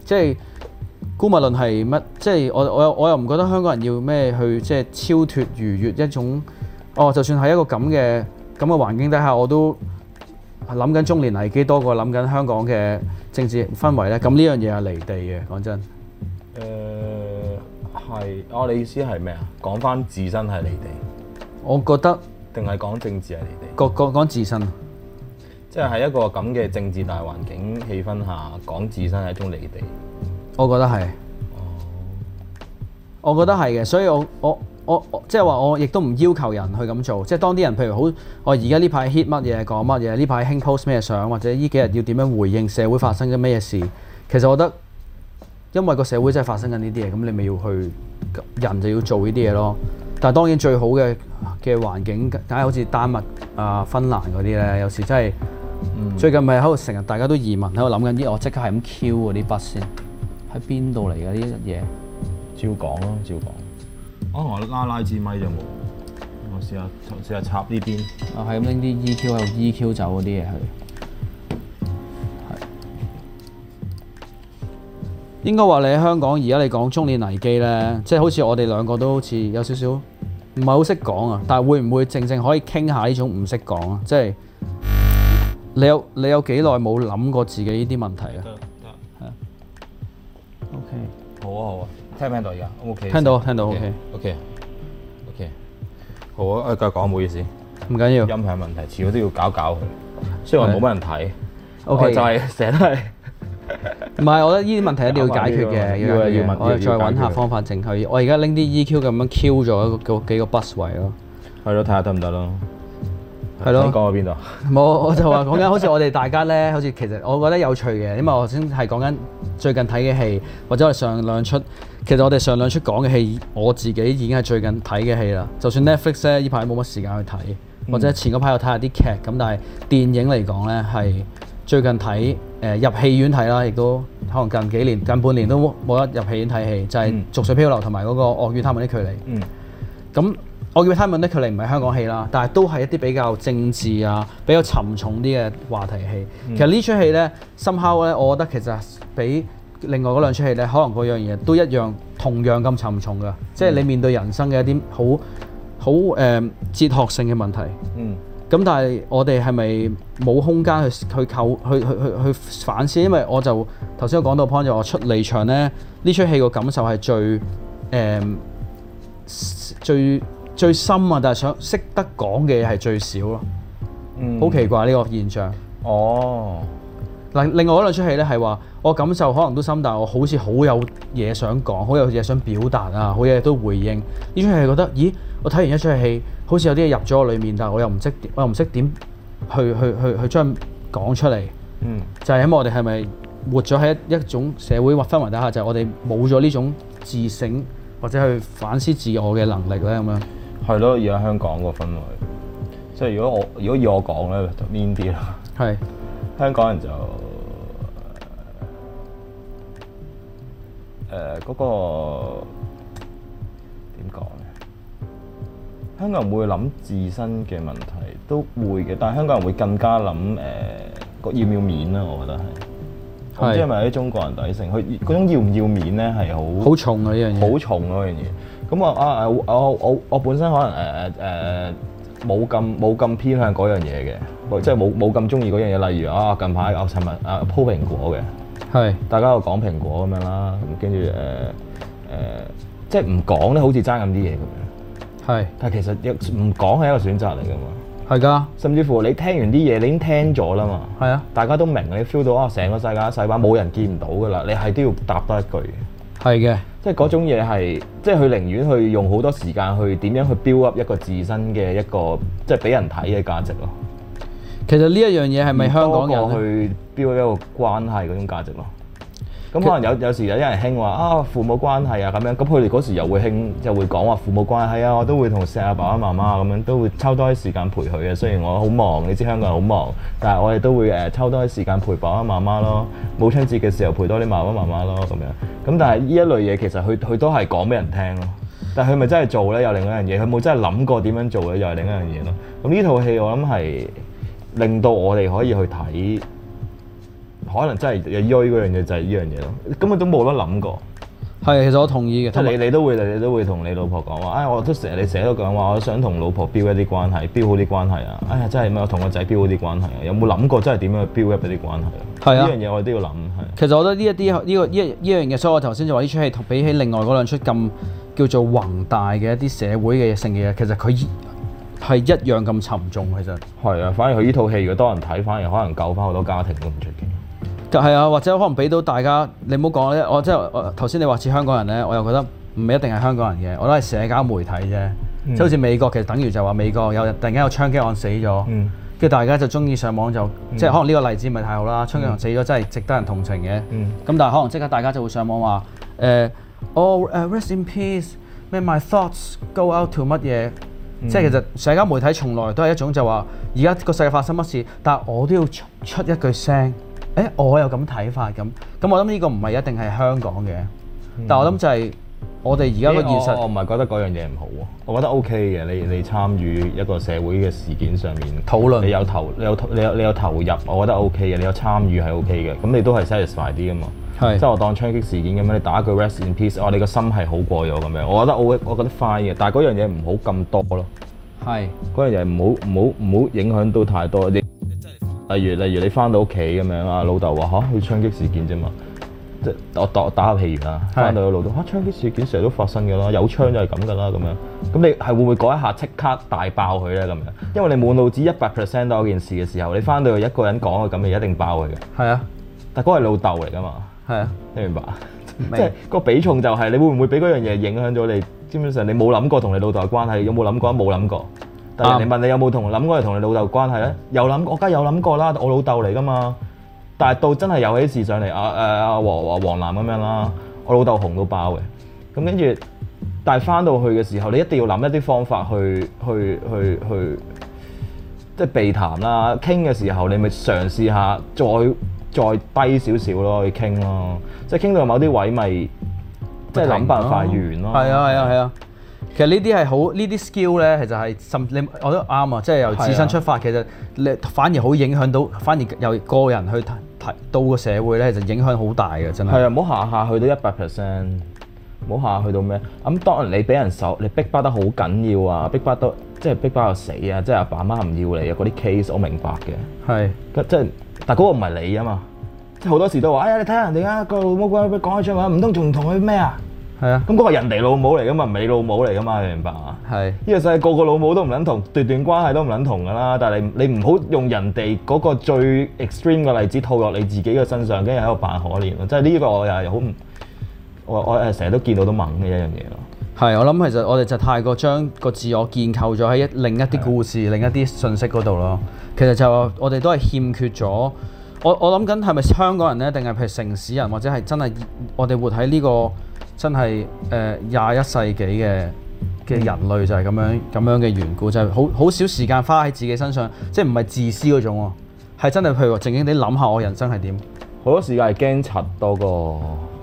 即係姑勿論係乜，即係我又唔覺得香港人要咩去即係超脫逾越一種，就算喺一個咁嘅環境底下，我都諗緊中年危機多過諗緊香港嘅政治氛圍咧。咁呢樣嘢係離地嘅，講真。 係，你意思係咩啊？講翻自身係離地， 我覺得定係講政治係離地？ 講自身， 即係喺一個咁嘅政治大環境氣氛下，講自身係一種離地。 我覺得係。我覺得係嘅，所以我即係話我亦都唔要求人去咁做。即係當啲人譬如好，我而家呢排 hit 乜嘢講乜嘢，呢排興 post 咩相，或者呢幾日要點樣回應社會發生緊咩事，其實我覺得。因為個社會真係發生緊呢啲嘢，咁你咪要去人就要做呢啲嘢咯。但係當然最好嘅環境，梗係好似丹麥啊、芬蘭嗰啲咧，有時真係最近咪喺度成日大家都移民喺度諗緊啲，我即刻係咁 Q 嗰啲筆先喺邊度嚟㗎呢啲嘢？ 照講咯，照講。我拉支咪就冇，我試下插呢邊。 係咁拎啲 EQ 喺度 EQ 走嗰啲嘢去。應該話你喺香港而家你講中年危機咧，即係好似我哋兩個都好似有少少唔係好識講啊，但係會唔會正可以傾下呢種唔識講啊？即係你有幾耐冇諗過自己呢啲問題啊？得。OK。 好啊。聽唔聽到而家 ？OK。 聽到。 OK。好啊，繼續講，唔好意思。 唔緊要。 音響問題，遲早都要搞佢。雖然話冇乜人睇。 OK。 就係成日都係。 唔係，我覺得呢啲問題一定要解決嘅，我再揾下方法整佢。我而家拎啲 EQ 咁樣 Q 咗幾個 bus 位咯。係咯，睇下得唔得咯？ 係咯。 你講到邊度？ 冇，我就話講緊好似我哋大家咧，好似其實我覺得有趣嘅，因為我先係講緊最近睇嘅戲，或者我哋上兩出，其實我哋上兩出講嘅戲，我自己已經係最近睇嘅戲啦。就算 Netflix 咧，呢排冇乜時間去睇，或者前嗰排有睇下啲劇咁，但係電影嚟講咧係最近睇。入戲院睇啦，亦都可能近幾年、近半年都冇得入戲院睇戲，就係《濁水漂流》同埋嗰個《惡與他們的距離》。咁《惡與他們的距離》唔係香港戲啦，但係都係一啲比較政治啊、比較沉重啲嘅話題戲。其實呢出戲咧，somehow咧，我覺得其實比另外嗰兩出戲咧，可能嗰樣嘢都一樣，同樣咁沉重㗎。即係你面對人生嘅一啲好哲學性嘅問題。咁但係我哋係咪冇空間去反思？因為我就頭先我講到 point 就我出離場咧，呢出戲個感受係最深啊！但係想識得講嘅嘢係最少咯。好奇怪呢個現象。嗱，另外嗰兩出戲咧係話我感受可能都深，但係我好似好有嘢想講，好有嘢想表達啊，好嘢都回應。呢出戲係覺得，咦？我睇完一出戲，好似有啲嘢入咗我裏面，但係我又唔識點去將講出嚟。就係因為我哋係咪活咗喺一種社會或氛圍底下，就係我哋冇咗呢種自省或者去反思自我嘅能力咧咁樣。係咯，而家香港個氛圍，即係如果以我講咧，就 mean 啲啦。係香港人就嗰個點講咧？香港人會諗自身嘅問題都會嘅，但係香港人會更加諗要唔要面啦，我覺得係。唔知係咪啲中國人底性，佢嗰種要唔要面咧係好重啊呢樣嘢， 好重嗰樣嘢。咁我本身可能冇咁偏向嗰樣嘢嘅，即係冇咁中意嗰樣嘢。例如近排我尋日鋪蘋果嘅，係大家又講蘋果咁樣啦，咁跟住即係唔講咧，好似爭咁啲嘢咁樣。係，但係其實唔講係一個選擇嚟㗎嘛。係㗎，甚至乎你聽完啲嘢，你已經聽咗啦嘛。係啊，大家都明，你 feel 到成個世界細把冇人見唔到㗎啦，你係都要答多一句。係嘅，即係嗰種嘢係，即係佢寧願去用好多時間去點樣去 build up 一個自身嘅一個即係俾人睇嘅價值咯。其實呢一樣嘢係咪香港人去 build 一個關係嗰種價值咯？咁可能有時有啲人興話父母關係啊咁樣，咁佢哋嗰時又會講話父母關係啊，我都會同錫阿爸爸媽媽咁樣，都會抽多啲時間陪佢嘅。雖然我好忙，你知香港人好忙，但係我哋都會抽多啲時間陪爸爸媽媽咯。母親節嘅時候陪多啲爸爸媽媽咯咁樣。咁但係呢一類嘢其實佢都係講俾人聽咯。但係佢咪真係做咧？又另一樣嘢，佢冇真係諗過點樣做咧，又係另一樣嘢咯。咁呢套戲我諗係令到我哋可以去睇可能真係鋥嗰樣嘢就係呢樣嘢咯，根本都冇得諗過。 係，其實我同意嘅。 即係你都會同你老婆講話，我都成日都講話，我想同老婆 build 一啲關係，build 好啲關係啊！哎呀，真係我同個仔 build 好啲關係啊！有冇諗過真係點樣去 build up 一啲關係啊？係啊，呢樣嘢我哋都要諗。係。其實我覺得呢樣嘢，所以我頭先就話呢出戲比起另外嗰兩出咁叫做宏大嘅一啲社會嘅性嘅嘢，其實佢係一樣咁沉重。其實係啊，反而佢呢套戲如果多人睇，反而可能救翻好多家庭都唔出奇。 係啊，或者可能俾到大家，你唔好講咧。我即係頭先你話似香港人咧，我又覺得唔一定係香港人嘅，我都係社交媒體啫。即係好似美國，其實等於就話美國突然間有槍擊案死咗，跟住大家就中意上網就即係可能呢個例子唔係太好啦。槍擊案死咗真係值得人同情嘅。咁但係可能即刻大家就會上網話rest in peace，咩 my thoughts go out to 乜嘢？即係其實社交媒體從來都係一種就話而家個世界發生乜事，但係我都要出一句聲。我有咁睇法咁，我諗呢個唔係一定係香港嘅，但我諗就係我哋而家個現實。 我唔係覺得嗰樣嘢唔好喎，我覺得 OK 嘅。你參與一個社會嘅事件上面討論， 你有投入，我覺得 OK 嘅。你有參與係 OK嘅，咁你都係 satisfy 啲噶嘛。係。即係我當槍擊事件咁樣，你打一句 rest in peace，你個心係好過咗咁樣，我覺得 fine 嘅。但係嗰樣嘢唔好咁多咯。係。嗰樣嘢唔好影響到太多。例如你翻到屋企咁樣啊，老豆話去槍擊事件啫嘛，即係我打下譬如啦，翻到個老豆槍擊事件成日都發生㗎啦，有槍就係咁㗎啦咁樣，咁你係會唔會嗰一下即刻大爆佢咧咁樣？因為你滿腦子100%都嗰件事嘅時候，你翻到去一個人講嘅咁，你一定爆佢嘅。係啊，但嗰係老豆嚟㗎嘛。係啊，你明白？即係個比重就係你會唔會俾嗰樣嘢影響咗你？基本上你冇諗過同你老豆嘅關係，有冇諗過？冇諗過。但係人哋問你有冇諗過係同你老豆關係咧？有諗，我梗係有諗過啦，我老豆嚟噶嘛。但係到真係有起事上嚟，黃藍咁樣啦，我老豆紅到爆嘅。咁跟住，但係翻到去嘅時候，你一定要諗一啲方法去，即係避談啦。傾嘅時候，你咪嘗試下再低少少咯，去傾咯。即係傾到某啲位咪，即係諗辦法完咯。係啊。其實呢啲係好，呢啲 skill 咧，其實係我覺得啱啊！即係由自身出發，其實你反而好影響到，反而由個人去睇到個社會咧，就影響好大嘅，真係。係啊，唔好下下去到100%，唔好下下去到咩？咁當然你俾人你逼巴得好緊要啊，逼巴得即係逼巴到死啊！即係阿爸媽唔要你啊，嗰啲 case 我明白嘅。係。即係，但係嗰個唔係你啊嘛！即係好多時都話：哎呀，你睇下人哋啊，個老母鬼講開出話，唔通仲同佢咩啊？係啊，咁嗰個人哋老母嚟噶嘛，唔係你老母嚟噶嘛，你明白啊？係呢個世界個老母都唔撚同，段關係都唔撚同噶啦。但係你唔好用人哋嗰個最 extreme 嘅例子套落你自己嘅身上，跟住喺度扮可憐咯。即係呢個我又係好唔，我成日都見到都猛嘅一樣嘢咯。係，我諗其實我哋就太過將個自我建構咗喺另一啲故事、另一啲信息嗰度咯。其實就我哋都係欠缺咗。我諗緊係咪香港人咧，定係譬如城市人，或者係真係我哋活喺呢個真係21世紀嘅人類就係咁樣嘅緣故，就係好少時間花喺自己身上，即係唔係自私嗰種喎，係真係譬如話靜靜地諗下我人生係點。好多時間係驚柒多過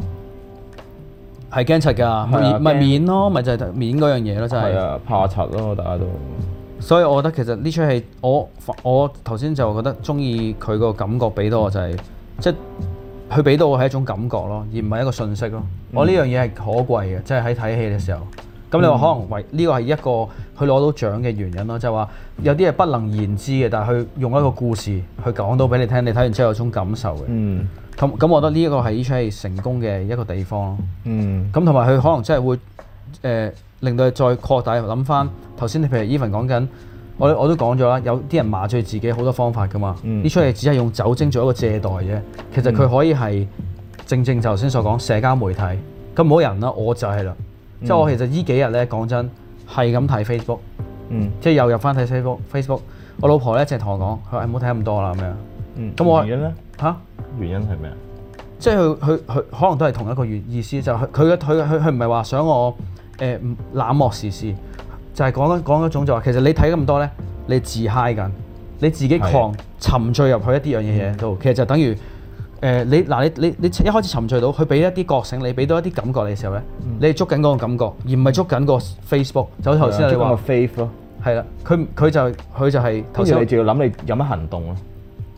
係驚柒㗎，咪面咯，咪就係面嗰樣嘢咯，真係。係啊，怕柒咯，大家都。所以我覺得其實呢出戲，我頭先就覺得中意佢個感覺俾到我就係即係。佢俾到我係一種感覺咯，而唔係一個訊息咯。我呢樣嘢係可貴嘅，即係喺睇戲嘅時候。咁你話可能為呢個係一個佢攞到獎嘅原因咯，就係話有啲係不能言之嘅，但係佢用一個故事去講到俾你聽，你睇完之後有種感受嘅。咁我覺得呢一個係呢出戲成功嘅一個地方咯。咁同埋佢可能真係會令到你再擴大諗翻頭先，你譬如 Evan 講緊。我都講咗啦，有啲人麻醉自己好多方法噶嘛。呢出戲只係用酒精做一個借代啫。其實佢可以係正就頭先所講社交媒體。咁冇人啦，我就係啦。即係我其實呢幾日咧講真係咁睇 Facebook。即係又入翻睇 Facebook。我老婆咧淨係同我講，佢話唔好睇咁多啦咁樣。咁我原因咧嚇？原因係咩啊？即係佢可能都係同一個意思，就係佢唔係話想我冷漠時事。就係講一種就話，其實你睇咁多咧，你自嗨緊，你自己沉醉入去一啲樣嘢度，其實就等於你一開始沉醉到，佢俾一啲覺醒你，俾到一啲感覺你嘅時候咧，你係捉緊嗰個感覺，而唔係捉緊個 Facebook。就好似頭先你話，捉緊個 faith 咯。係啦，佢就係頭先你仲要諗你有乜行動咯。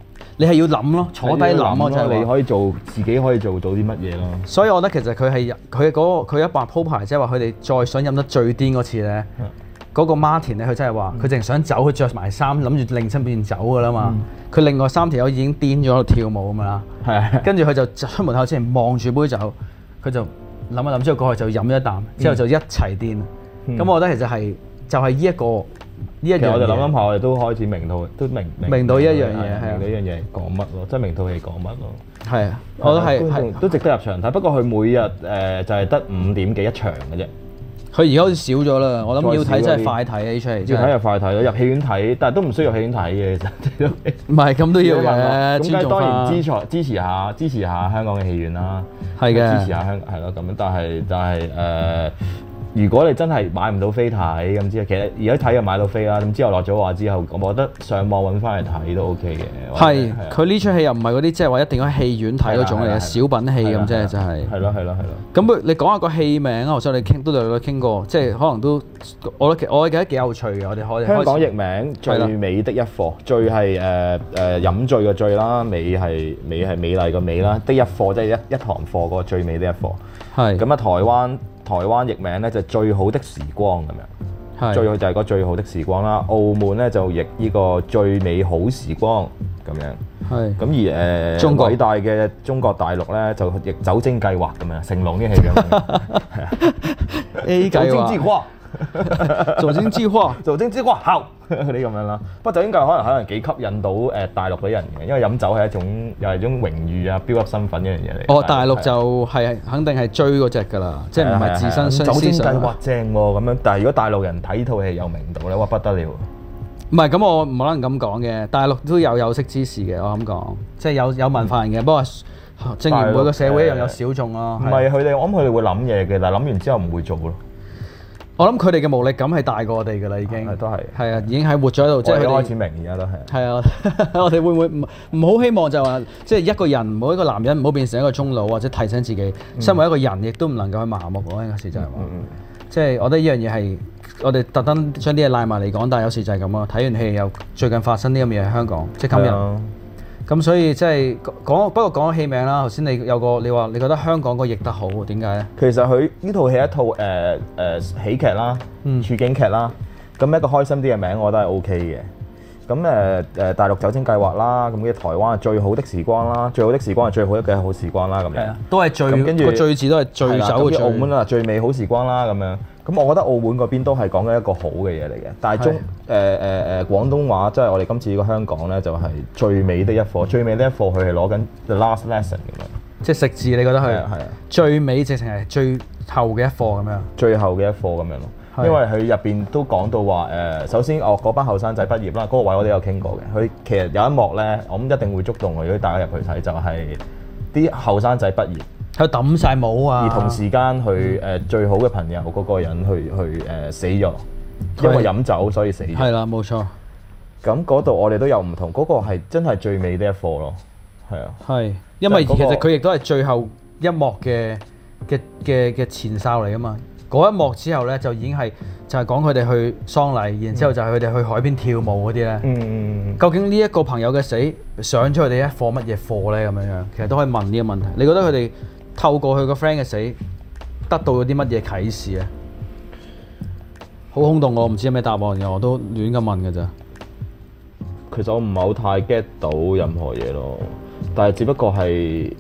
你係要諗咯，坐低諗咯，就係你可以做自己可以做到啲乜嘢咯。 所以我覺得其實佢一白鋪排，即係話佢哋再想飲得最癲嗰次咧，嗰個 Martin 咧，佢真係話佢淨係想走，佢着埋衫諗住另身邊走噶啦嘛。佢另外3條友已經癲咗喺度跳舞咁樣啦，跟住佢就出門口之前望住杯酒，佢就諗一諗之後過去就飲一啖，之後就一齊癲。咁我覺得其實係就係呢一個。其實我哋諗下，我哋都開始明到呢一樣嘢，明到呢樣嘢講乜咯，即係明套戲講乜咯。係啊，我覺得係都值得入場睇。不過佢每日就係得5點幾一場嘅啫。佢而家好似少咗啦。我諗要睇真係快睇呢出戲。要睇就快睇咯，入戲院睇，但係都唔需要入戲院睇嘅其實。唔係咁都要嘅。咁梗係當然支持下香港嘅戲院啦。係嘅。支持下香港係咯咁樣，但係如果你真係買唔到飛睇咁之後，其實而家睇就買到飛啦。咁之後落咗畫之後，我覺得上網揾翻嚟睇都 OK 嘅。係，佢呢出戲又唔係嗰啲即係話一定要喺戲院睇嗰種嚟嘅小品戲咁啫，就係。係咯。咁你講下個戲名啊，我想你都有傾過，即係可能都我覺得幾有趣嘅。我哋可以香港譯名最美的一課，醉係飲醉嘅醉啦，美係美麗嘅美啦，的一課即係一堂課嗰個最美的一課。係。咁啊，台灣譯名咧就最好的時光咁樣，最好就係個最好的時光啦。澳門咧就譯呢個最美好時光咁樣。係。咁而偉大嘅中國大陸咧就譯酒精計劃咁樣，成龍啲戲咁樣。係啊。A 計劃。酒精計劃好嗰啲咁樣啦。不過酒精計劃可能幾吸引到大陸嗰啲人嘅，因為飲酒係又係一種榮譽啊、標級身份一樣嘢嚟。哦，大陸就係肯定係追嗰隻㗎啦，即係唔係自身相思。酒精計劃正喎咁樣，但係如果大陸人睇呢套戲有明度咧，哇不得了！唔係咁，我唔可能咁講嘅。大陸都有識之士嘅，我咁講，即係有文化人嘅。不過正如每個社會一樣有小眾咯。唔係佢哋，我諗佢哋會諗嘢嘅，但係諗完之後唔會做咯。我諗佢哋嘅無力感係大過我哋㗎啦，已經都係啊，已經係活咗喺度，即係佢哋開始明而家都係。係啊，我哋會唔會唔好希望就話，即係一個人，唔好一個男人唔好變成一個中老，或者提醒自己，身為一個人，亦都唔能夠去麻木咯。有時就係話，即係我覺得呢樣嘢係我哋特登將啲嘢賴埋嚟講，但係有時就係咁咯。睇完戲又最近發生啲咁嘅嘢喺香港，即係今日。咁所以即係不過講咗戲名啦。頭先你話你覺得香港個譯得好，點解咧？其實佢呢套戲係一套喜劇啦，處境劇啦。咁一個開心啲嘅名，我覺得係 OK 嘅。咁大陸酒精計劃啦，咁嘅台灣最好的時光啦，最好的時光係最好一嘅好時光啦，咁樣。係啊，都係最跟住個最字都係最酒嘅最。澳門啊，最美好時光啦，咁樣。咁我覺得澳門嗰邊都係講緊一個好嘅嘢嚟嘅，但係廣東話即係我哋今次呢個香港咧，就係最美的一課，最美的一課佢係攞緊 the last lesson 咁樣，即係食字，你覺得佢係啊最美直情係最後嘅一課咁樣，最後嘅一課咁樣咯，因為佢入邊都講到話首先嗰班後生仔畢業啦，嗰個位我哋有傾過嘅，佢其實有一幕咧，我諗一定會觸動我，如果大家入去睇，就係啲後生仔畢業。佢抌晒帽啊！而同時間佢最好嘅朋友嗰個人去死咗，因為飲酒所以死咗。係啦，冇錯。咁嗰度我哋都有唔同，嗰個係真係最美的一課咯。係啊。係，因為其實佢亦都係最後一幕嘅前哨嚟㗎嘛。嗰一幕之後咧，就已經係就係講佢哋去喪禮，然之後就係佢哋去海邊跳舞嗰啲咧。究竟呢一個朋友嘅死上咗佢哋一課乜嘢課咧？咁樣其實都可以問呢個問題。你覺得佢哋透過佢個 friend 嘅死，得到咗啲乜嘢啟示啊？好空洞，我唔知有咩答案嘅，我都亂咁問嘅咋。其實我唔係好太 get 到任何嘢咯，但係只不過係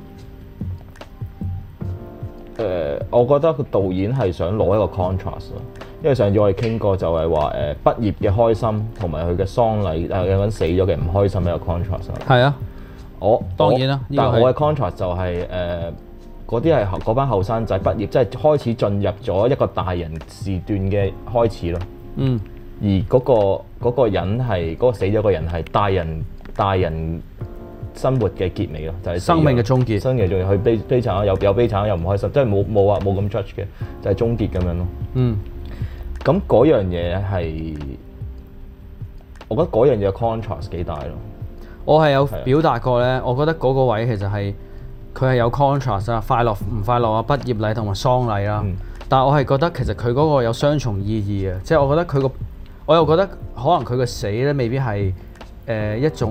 我覺得個導演係想攞一個 contrast 咯，因為上次我哋傾過就係話畢業嘅開心同埋佢嘅喪禮有個人死咗嘅唔開心一個 contrast。係啊，當然啦，但係我嘅 contrast 就係嗰啲係嗰班後生仔畢業，即係開始進入咗一個大人時段嘅開始咯。而嗰個人係嗰個死咗個人係大人生活嘅結尾咯，就係生命嘅終結。生命嘅終結，佢悲慘啦，有悲慘又唔開心，即係冇話冇咁 judge 嘅，就係終結咁樣咯。咁嗰樣嘢係，我覺得嗰樣嘢 contrast 幾大咯。我係有表達過咧，我覺得嗰個位其實係。佢係有 contrast 啊，快樂唔快樂啊，畢業禮同埋喪禮啦。但係我係覺得其實佢嗰個有雙重意義嘅，即係我覺得我又覺得可能佢個死咧未必係一種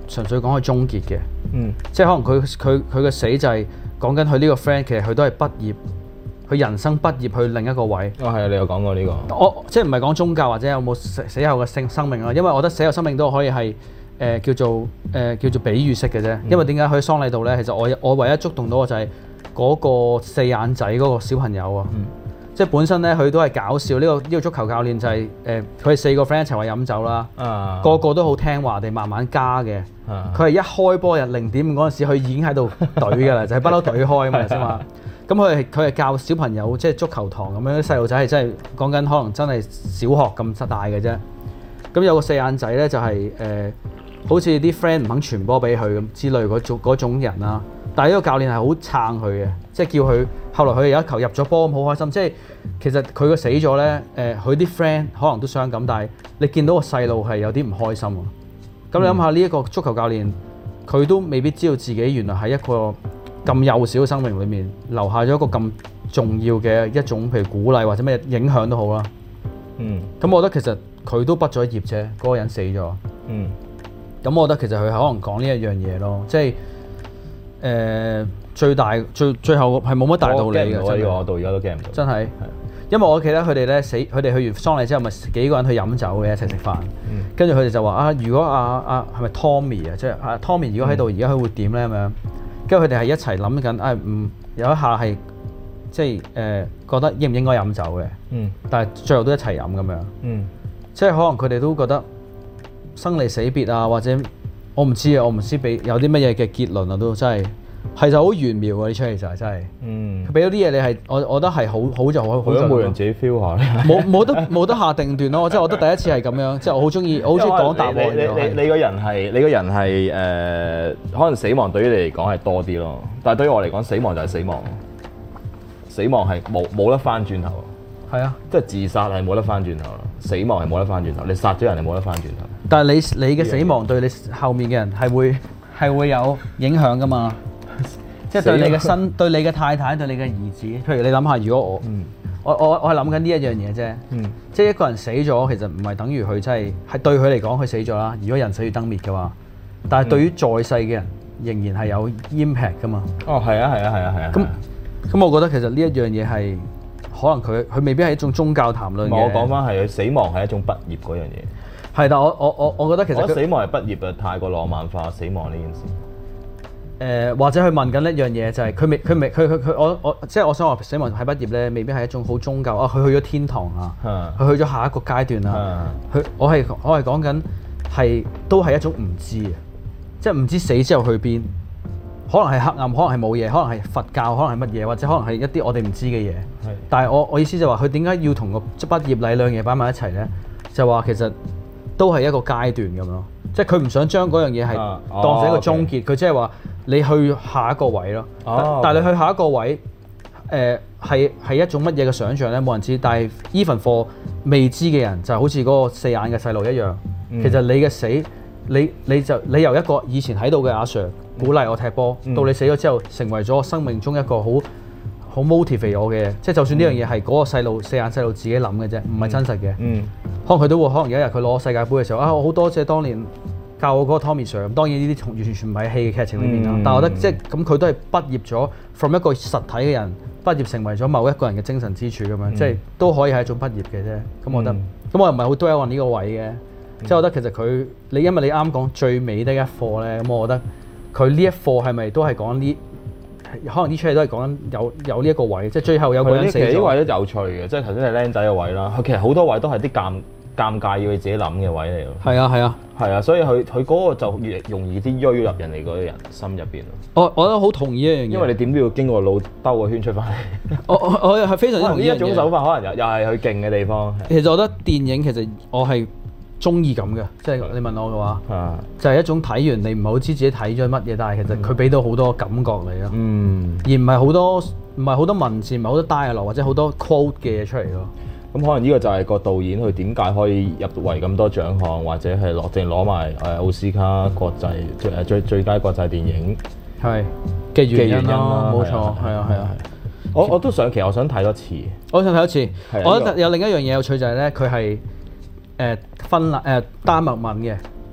純粹講佢終結嘅，即係可能佢嘅死就係講緊佢呢個 friend 其實佢都係畢業，佢人生畢業去另一個位。係啊，你有講過呢個。 我即係唔係講宗教或者有冇死後嘅生命啊？因為我覺得死後生命都可以係叫做比喻式嘅啫。因為點解佢喺喪禮度咧？其實我唯一觸動到嘅就係嗰個四眼仔嗰個小朋友啊。即係本身咧，佢都係搞笑。呢個足球教練就係佢哋4個 friend 一齊話飲酒啦，個個都好聽話地慢慢加嘅。佢係一開波日0.5嗰陣時，佢已經喺度懟㗎啦，就係不嬲懟開啊嘛，先嘛。咁佢係教小朋友即係足球堂咁樣，啲細路仔係真係講緊可能真係小學咁大嘅啫。咁有個四眼仔咧就係好似啲 friend 唔肯傳波俾佢咁之類嗰種人啦。但係呢個教練係好撐佢嘅，即係叫佢。後來佢有一球入咗波咁好開心，即係其實佢個死咗咧，佢啲 friend 可能都傷感，但係你見到個細路係有啲唔開心喎。咁你諗下呢一個足球教練，佢都未必知道自己原來喺一個咁幼小嘅生命裏面留下咗一個咁重要嘅一種，譬如鼓勵或者咩影響都好啦。咁我覺得其實佢都畢咗業啫，嗰個人死咗。咁我覺得其實佢可能講呢一樣嘢咯，即係最後係冇乜大道理嘅， 我到而家都驚唔到。 真係，因為我記得佢哋咧佢哋去完喪禮之後，咪幾個人去飲酒嘅，一齊食飯。跟住佢哋就話啊，如果係咪 Tommy 啊，即係Tommy 如果喺度，而家佢會點咧咁樣？跟住佢哋係一齊諗緊，有一下係即係覺得應唔應該飲酒嘅。但係最後都一齊飲咁樣。即係可能佢哋都覺得生離死別啊，或者我唔知有啲乜嘢嘅結論啊，都真係。係就好玄妙喎！呢出戲就係真係，佢俾咗啲嘢你係，我覺得係好就好。好每人自己 feel 下。 冇得下定斷咯，即係我覺得第一次係咁樣，即係我好中意講答案。 你個人係可能死亡對於你嚟講係多啲咯，但係對於我嚟講，死亡就係死亡，死亡係冇得翻轉頭。 係啊， 即係自殺係冇得翻轉頭，死亡係冇得翻轉頭。你殺咗人係冇得翻轉頭。 但係你嘅死亡對你後面嘅人係會有影響㗎嘛？即係對你嘅對你嘅太太、對你嘅兒子，譬如你諗下，如果我係諗緊呢一樣嘢啫。即係一個人死咗，其實唔係等於佢真係對佢嚟講佢死咗啦。如果人死如燈滅嘅話，但係對於在世嘅人仍然係有 impact 㗎嘛。哦，係啊。咁我覺得其實呢一樣嘢係可能佢未必係一種宗教談論嘅。 我講翻係死亡係一種畢業嗰樣嘢。 係，但我覺得其實死亡係畢業啊，太過浪漫化死亡呢件事。 或者佢問緊一樣嘢就係佢即係我想話死亡係畢業咧，未必係一種好宗教啊。佢去咗天堂啊，佢去咗下一個階段啊。我係講緊都係一種唔知啊，即係唔知死之後去邊，可能係黑暗，可能係冇嘢，可能係佛教，可能係乜嘢，或者可能係一啲我哋唔知嘅嘢。但係我意思就話佢點解要同個畢業禮兩嘢擺埋一齊咧？就話其實都係一個階段咁咯，即係佢唔想將嗰樣嘢係當成一個終結，佢即係話。你去下一個位咯，但係你去下一個位，係一種乜嘢嘅想像咧？冇人知。但係 even for 未知嘅人，就好似嗰個四眼嘅細路一樣。其實你嘅死，你由一個以前喺度嘅阿 Sir 鼓勵我踢波，到你死咗之後，成為咗生命中一個好 motivate 我嘅。即係就算呢樣嘢係嗰個四眼細路自己諗嘅啫，唔係真實嘅。可能佢都會，可能有一日佢攞世界盃嘅時候，我好多謝當年教我嗰個 Tommy Sir。當然呢啲完全唔係戲嘅劇情裏面啦，但係我覺得即係咁佢都係畢業咗 from 一個實體嘅人畢業成為咗某一個人嘅精神支柱咁樣，即係都可以係一種畢業嘅啫。咁我覺得，咁我又唔係好 dwell on呢個位嘅，即係我覺得其實佢因為你啱講最尾的一課咧，咁我覺得佢呢一課係咪都係講呢？可能呢出戲都係講緊有呢一個位，即係最後有個人死咗。其實呢位都有趣嘅，即係頭先係僆仔嘅位啦。佢其實好多位都係啲尷尬要佢自己諗嘅位嚟咯。係啊，所以佢嗰個就越容易啲鋥入人哋嗰啲人心入邊咯。我覺得好同意一樣嘢，因為你點都要經過腦兜個圈出翻嚟。我係非常之同意呢一種手法，可能又係佢勁嘅地方。其實我覺得電影其實我係中意咁嘅，即係你問我嘅話，就係一種睇完你唔係好知自己睇咗乜嘢，但係其實佢俾到好多感覺你咯，而唔係好多文字，唔係好多 dialogue 或者好多 quote 嘅嘢出嚟咯。咁可能呢個就係個導演佢點解可以入圍咁多獎項，或者係攞埋奧斯卡國際最佳國際電影嘅原因咯，冇錯，係啊。我都想，其實我想睇多次。我想睇多次。我覺得有另一樣嘢有趣就係咧，佢係丹麥文嘅，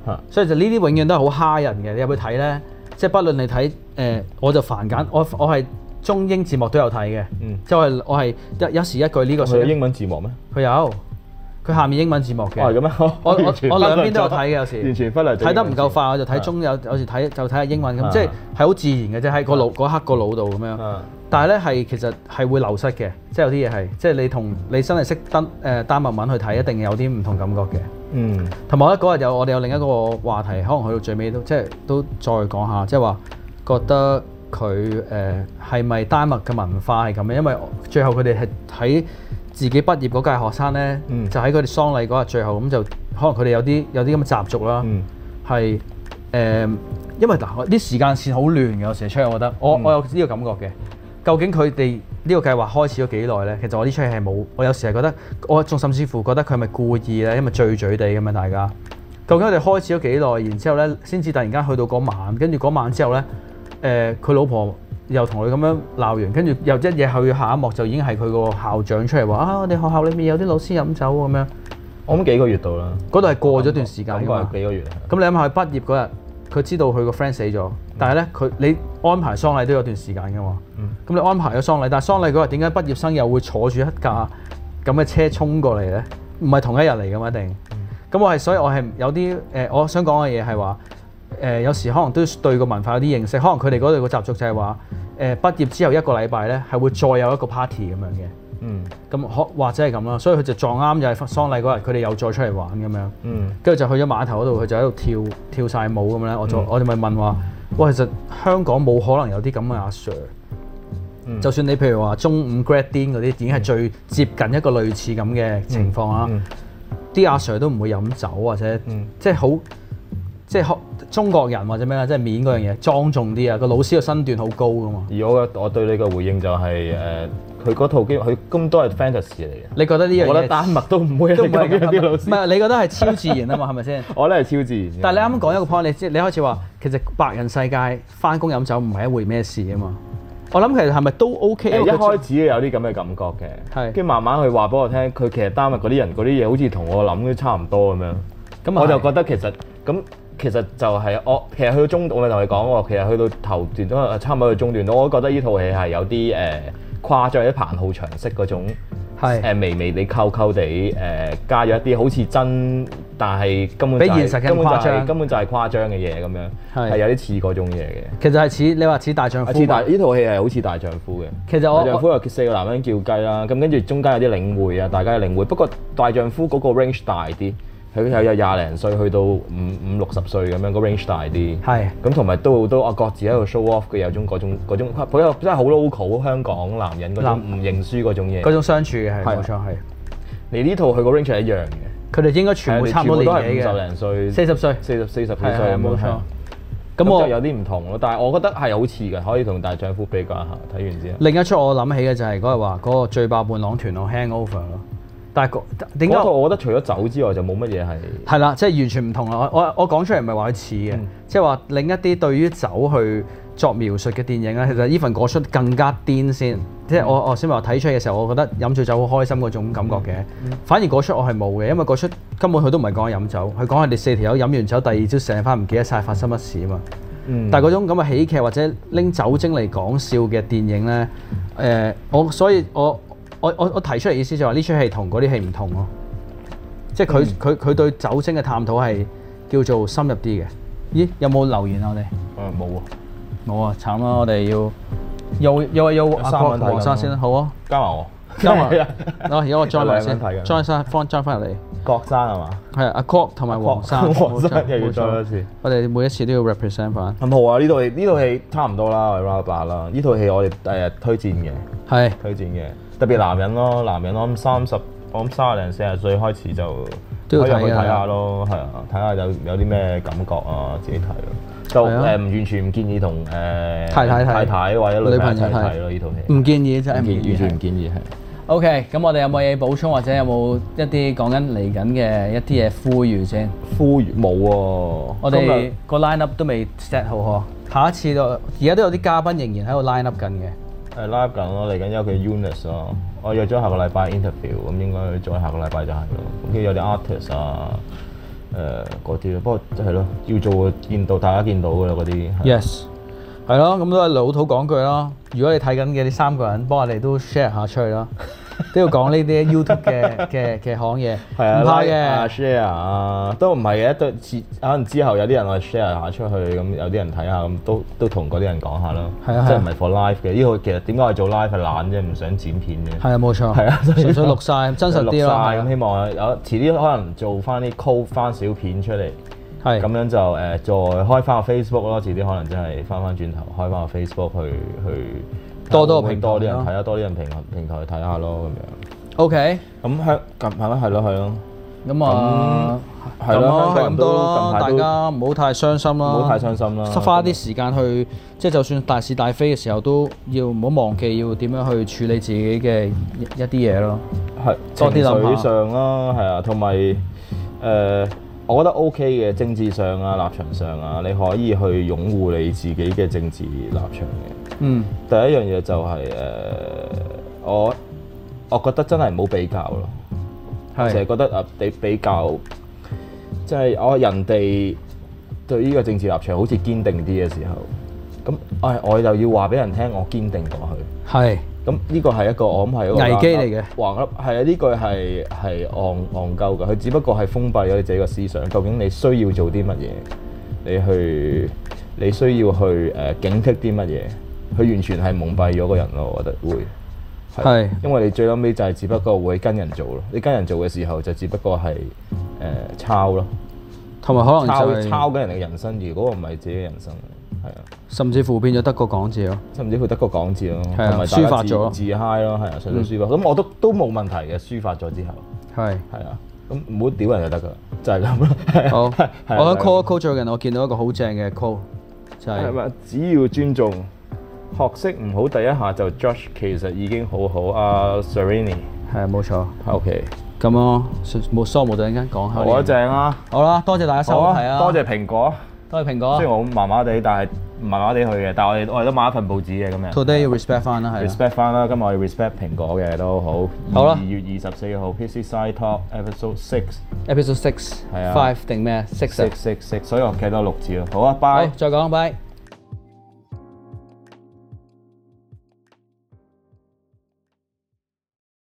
所以就呢啲永遠都係好蝦人嘅。你入去睇咧，即係不論你睇我就繁簡，我係中英字幕都有睇嘅，即係我係一時一句呢個。 佢有英文字幕咩？ 佢有，佢下面英文字幕嘅。 係咁咩？ 我兩邊都有睇嘅，有時完全忽略。 睇得唔夠快，我就睇中有時睇下英文咁，即係好自然嘅啫，喺個腦嗰刻個腦度咁樣。但係咧其實係會流失嘅，即係有啲嘢係，即係你真係識丹麥文去睇，一定有啲唔同感覺嘅。同埋嗰日我哋有另一個話題，可能去到最尾都再講下，即係話覺得佢係咪丹麥嘅文化係咁樣？因為最後佢哋係喺自己畢業嗰屆學生咧，就喺佢哋喪禮嗰日最後咁就可能佢哋有啲咁嘅習俗啦，係因為嗱啲時間線好亂嘅，有時出嚟我覺得我有呢個感覺嘅。究竟佢哋呢個計劃開始咗幾耐咧？其實我呢出戲係冇，我有時係覺得，我仲甚至乎覺得佢係咪故意咧？因為醉醉地咁樣大家。究竟佢哋開始咗幾耐？然之後咧，先至突然間去到嗰晚，跟住嗰晚之後咧，佢老婆又同佢咁樣鬧完，跟住又一嘢去下一幕就已經係佢個校長出嚟話啊，我哋學校裏面有啲老師飲酒咁樣。 我諗幾個月到啦。嗰度係過咗段時間㗎嘛。 幾個月。 咁你諗下佢畢業嗰日，佢知道佢個 friend 死咗，但係咧你安排喪禮都有段時間㗎嘛。咁你安排咗喪禮，但係喪禮嗰日點解畢業生又會坐住一架咁嘅車衝過嚟咧？唔係同一日嚟㗎嘛，一定。咁所以我係有啲我想講嘅嘢係話有時可能都對個文化有啲認識，可能佢哋嗰度個習俗就係話畢業之後一個禮拜咧係會再有一個 party 咁樣嘅。咁或者係咁啦，所以佢就撞啱就係喪禮嗰日，佢哋又再出嚟玩咁樣。跟住就去咗碼頭嗰度，佢就喺度跳晒舞咁咧。我哋咪問話，哇！其實香港冇可能有啲咁嘅阿 Sir。就算你譬如話中五 grad din 嗰啲，已經係最接近一個類似咁嘅情況啦。啲阿 Sir 都唔會飲酒或者即係好即係中國人或者咩啦，即係面嗰樣嘢莊重啲啊。個老師嘅身段好高噶嘛。而我對你嘅回應就係佢嗰套機佢咁多係 fantasy 嚟嘅。 你覺得呢樣嘢？我覺得丹麥都唔會有啲老師。 唔係你覺得係超自然啊嘛？係咪先？ 我覺得係超自然。 但係你啱啱講一個 point，你開始話其實白人世界翻工飲酒唔係一回咩事啊嘛。我諗其實係咪都 OK？一開始有啲咁嘅感覺嘅，跟住慢慢佢話俾我聽，佢其實丹麥嗰啲人嗰啲嘢好似同我諗都差唔多咁樣。咁我就覺得其實就係其實去到中段，我咪同你講喎，其實去到頭段都差唔多去中段，我都覺得呢套戲係有啲誇張，有啲彭浩翔式嗰種微微地溝地加咗一啲好似真，但係根本就係根本就係誇張嘅嘢咁樣，係有啲似嗰種嘢嘅。其實係似你話似大丈夫，呢套戲係好似大丈夫嘅。其實大丈夫有4個男人叫雞啦，咁跟住中間有啲領會啊，大家嘅領會。不過大丈夫嗰個 range 大啲。佢有廿零歲去到五六十歲咁樣，個 range 大啲。係。咁同埋都好多各自喺度 show off 嘅，有種嗰種，佢真係好 local 香港男人嗰種唔認輸嗰種嘢。嗰種相處嘅係冇錯係。你呢套佢個 range 係一樣嘅。佢哋應該全部差唔多年紀嘅。全部都係50零歲。40歲。40幾歲冇錯。咁我有啲唔同咯，但係我覺得係好似嘅，可以同大丈夫比較下。睇完之後。另一出我諗起嘅就係嗰日話嗰個醉爆伴郎團咯 ，Hangover 咯。但係點解？我覺得除咗酒之外就冇乜嘢係。係啦，即係完全唔同啦。我講出嚟唔係話佢似嘅，即係話另一啲對於酒去作描述嘅電影咧，其實呢份嗰出更加癲先。即係我先話睇出嘅時候，我覺得飲醉酒好開心嗰種感覺嘅。反而嗰出我係冇嘅，因為嗰出根本佢都唔係講飲酒，佢講佢哋4條友飲完酒，第二朝醒翻唔記得晒發生乜事啊嘛。但係嗰種咁嘅喜劇或者拎酒精嚟講笑嘅電影咧，所以我提出嚟意思就係話呢出戲同嗰啲戲唔同咯，即係佢對酒精嘅探討係叫做深入啲嘅。咦？有冇留言啊？我哋冇喎，冇啊！慘啦！我哋要阿郭黃生先啦，好啊，加埋我，而家我 join 埋先 ，join 翻入嚟。郭生係嘛？係阿郭同埋黃生，又要 join 一次。我哋每一次都要 represent 翻。咁好啊！呢套戲差唔多啦，我哋 round 8啦。呢套戲我哋推薦嘅，係推薦嘅。特別男人咯，我諗30零40歲開始就可以入去睇下咯，係啊，睇下有啲咩感覺啊，自己睇咯。就完全唔建議同太太或者女朋友一齊睇咯，呢套戲。唔建議真係完全唔建議係。OK，咁我哋有冇嘢補充或者有冇一啲講緊嚟緊嘅一啲嘢呼籲先？呼籲冇喎，我哋個 line up 都未 set 好嗬。下一次而家都有啲嘉賓仍然喺度 line up 緊嘅。line up 緊咯，嚟緊有佢 Eunice 咯，我約咗下個禮拜 interview，咁應該再下個禮拜就係咯。咁跟住有啲 artist 啊， 嗰啲咯。不過係咯，要做見到大家見到㗎啦嗰啲。 Yes， 係咯，咁都係老土講句啦。如果你睇緊嘅呢3個人，幫我哋都 share 下出去啦。都要講呢啲 YouTube 嘅行嘢，唔怕嘅 share 啊，都唔係嘅，都可能之後有啲人我 share 下出去，咁有啲人睇下，咁都同嗰啲人講下咯。係啊，即係唔係 for live 嘅？呢個其實點解我做 live 係懶啫，唔想剪片嘅。係啊，冇錯。係啊，純粹錄晒，真實啲咯。咁希望有遲啲可能做翻啲 call 翻小片出嚟，係咁樣就再開翻個 Facebook 咯。遲啲可能真係翻轉頭開翻個 Facebook 去。多啲人睇下，多啲人平台去睇下咯，咁樣。OK。咁係咯。咁啊，係咯，咁多咯。大家唔好太傷心啦。唔好太傷心啦。花啲時間去，即係就算大是大非嘅時候，都要唔好忘記要點樣去處理自己嘅一啲嘢咯。係。多啲諗下。情緒上啦，係啊，同埋我覺得 OK 嘅政治上啊、立場上啊，你可以去擁護你自己嘅政治立場嘅。第一樣嘢就係我覺得真係唔好比較咯，成日覺得你比較，即係人哋對呢個政治立場好似堅定啲嘅時候，咁我就要話俾人聽，我堅定過去。係。咁呢個係一個我諗係一個危機嚟嘅，橫噏係啊！呢句係戇鳩㗎，佢只不過係封閉咗你自己嘅思想。究竟你需要做啲乜嘢？你需要去警惕啲乜嘢？佢完全係蒙蔽咗個人咯，我覺得會係，因為你最撚尾就係只不過會跟人做咯。你跟人做嘅時候就只不過係抄咯，同埋可能就抄緊人哋嘅人生，如果唔係自己嘅人生。係啊，甚至乎變咗得個講字咯，甚至乎得個講字咯，同埋抒發咗自嗨咯，係啊，純粹抒發。咁我都冇問題嘅，抒發咗之後，係啊，咁唔好屌人就得噶，就係咁咯。好，我覺得 call 最近我見到一個好正嘅 call，就係只要尊重，學識唔好第一下就 judge， 其實已經好好。阿 Serrini 係啊，冇錯。OK，咁咯，冇疏冇突然間講下。好啊，正啊。好啦，多謝大家收睇啊，多謝蘋果。都係蘋果，雖然我麻麻地，但係麻麻地去嘅。但係我哋都買一份報紙嘅咁樣。Today 要 respect 翻啦，係。respect 翻啦，今日我要 respect 蘋果嘅都好。好啦。2月24號 PC Side Talk Episode 6。Episode 6。係啊。5定咩啊？6。所以我企多6字咯。好啊，拜。好，再講，拜。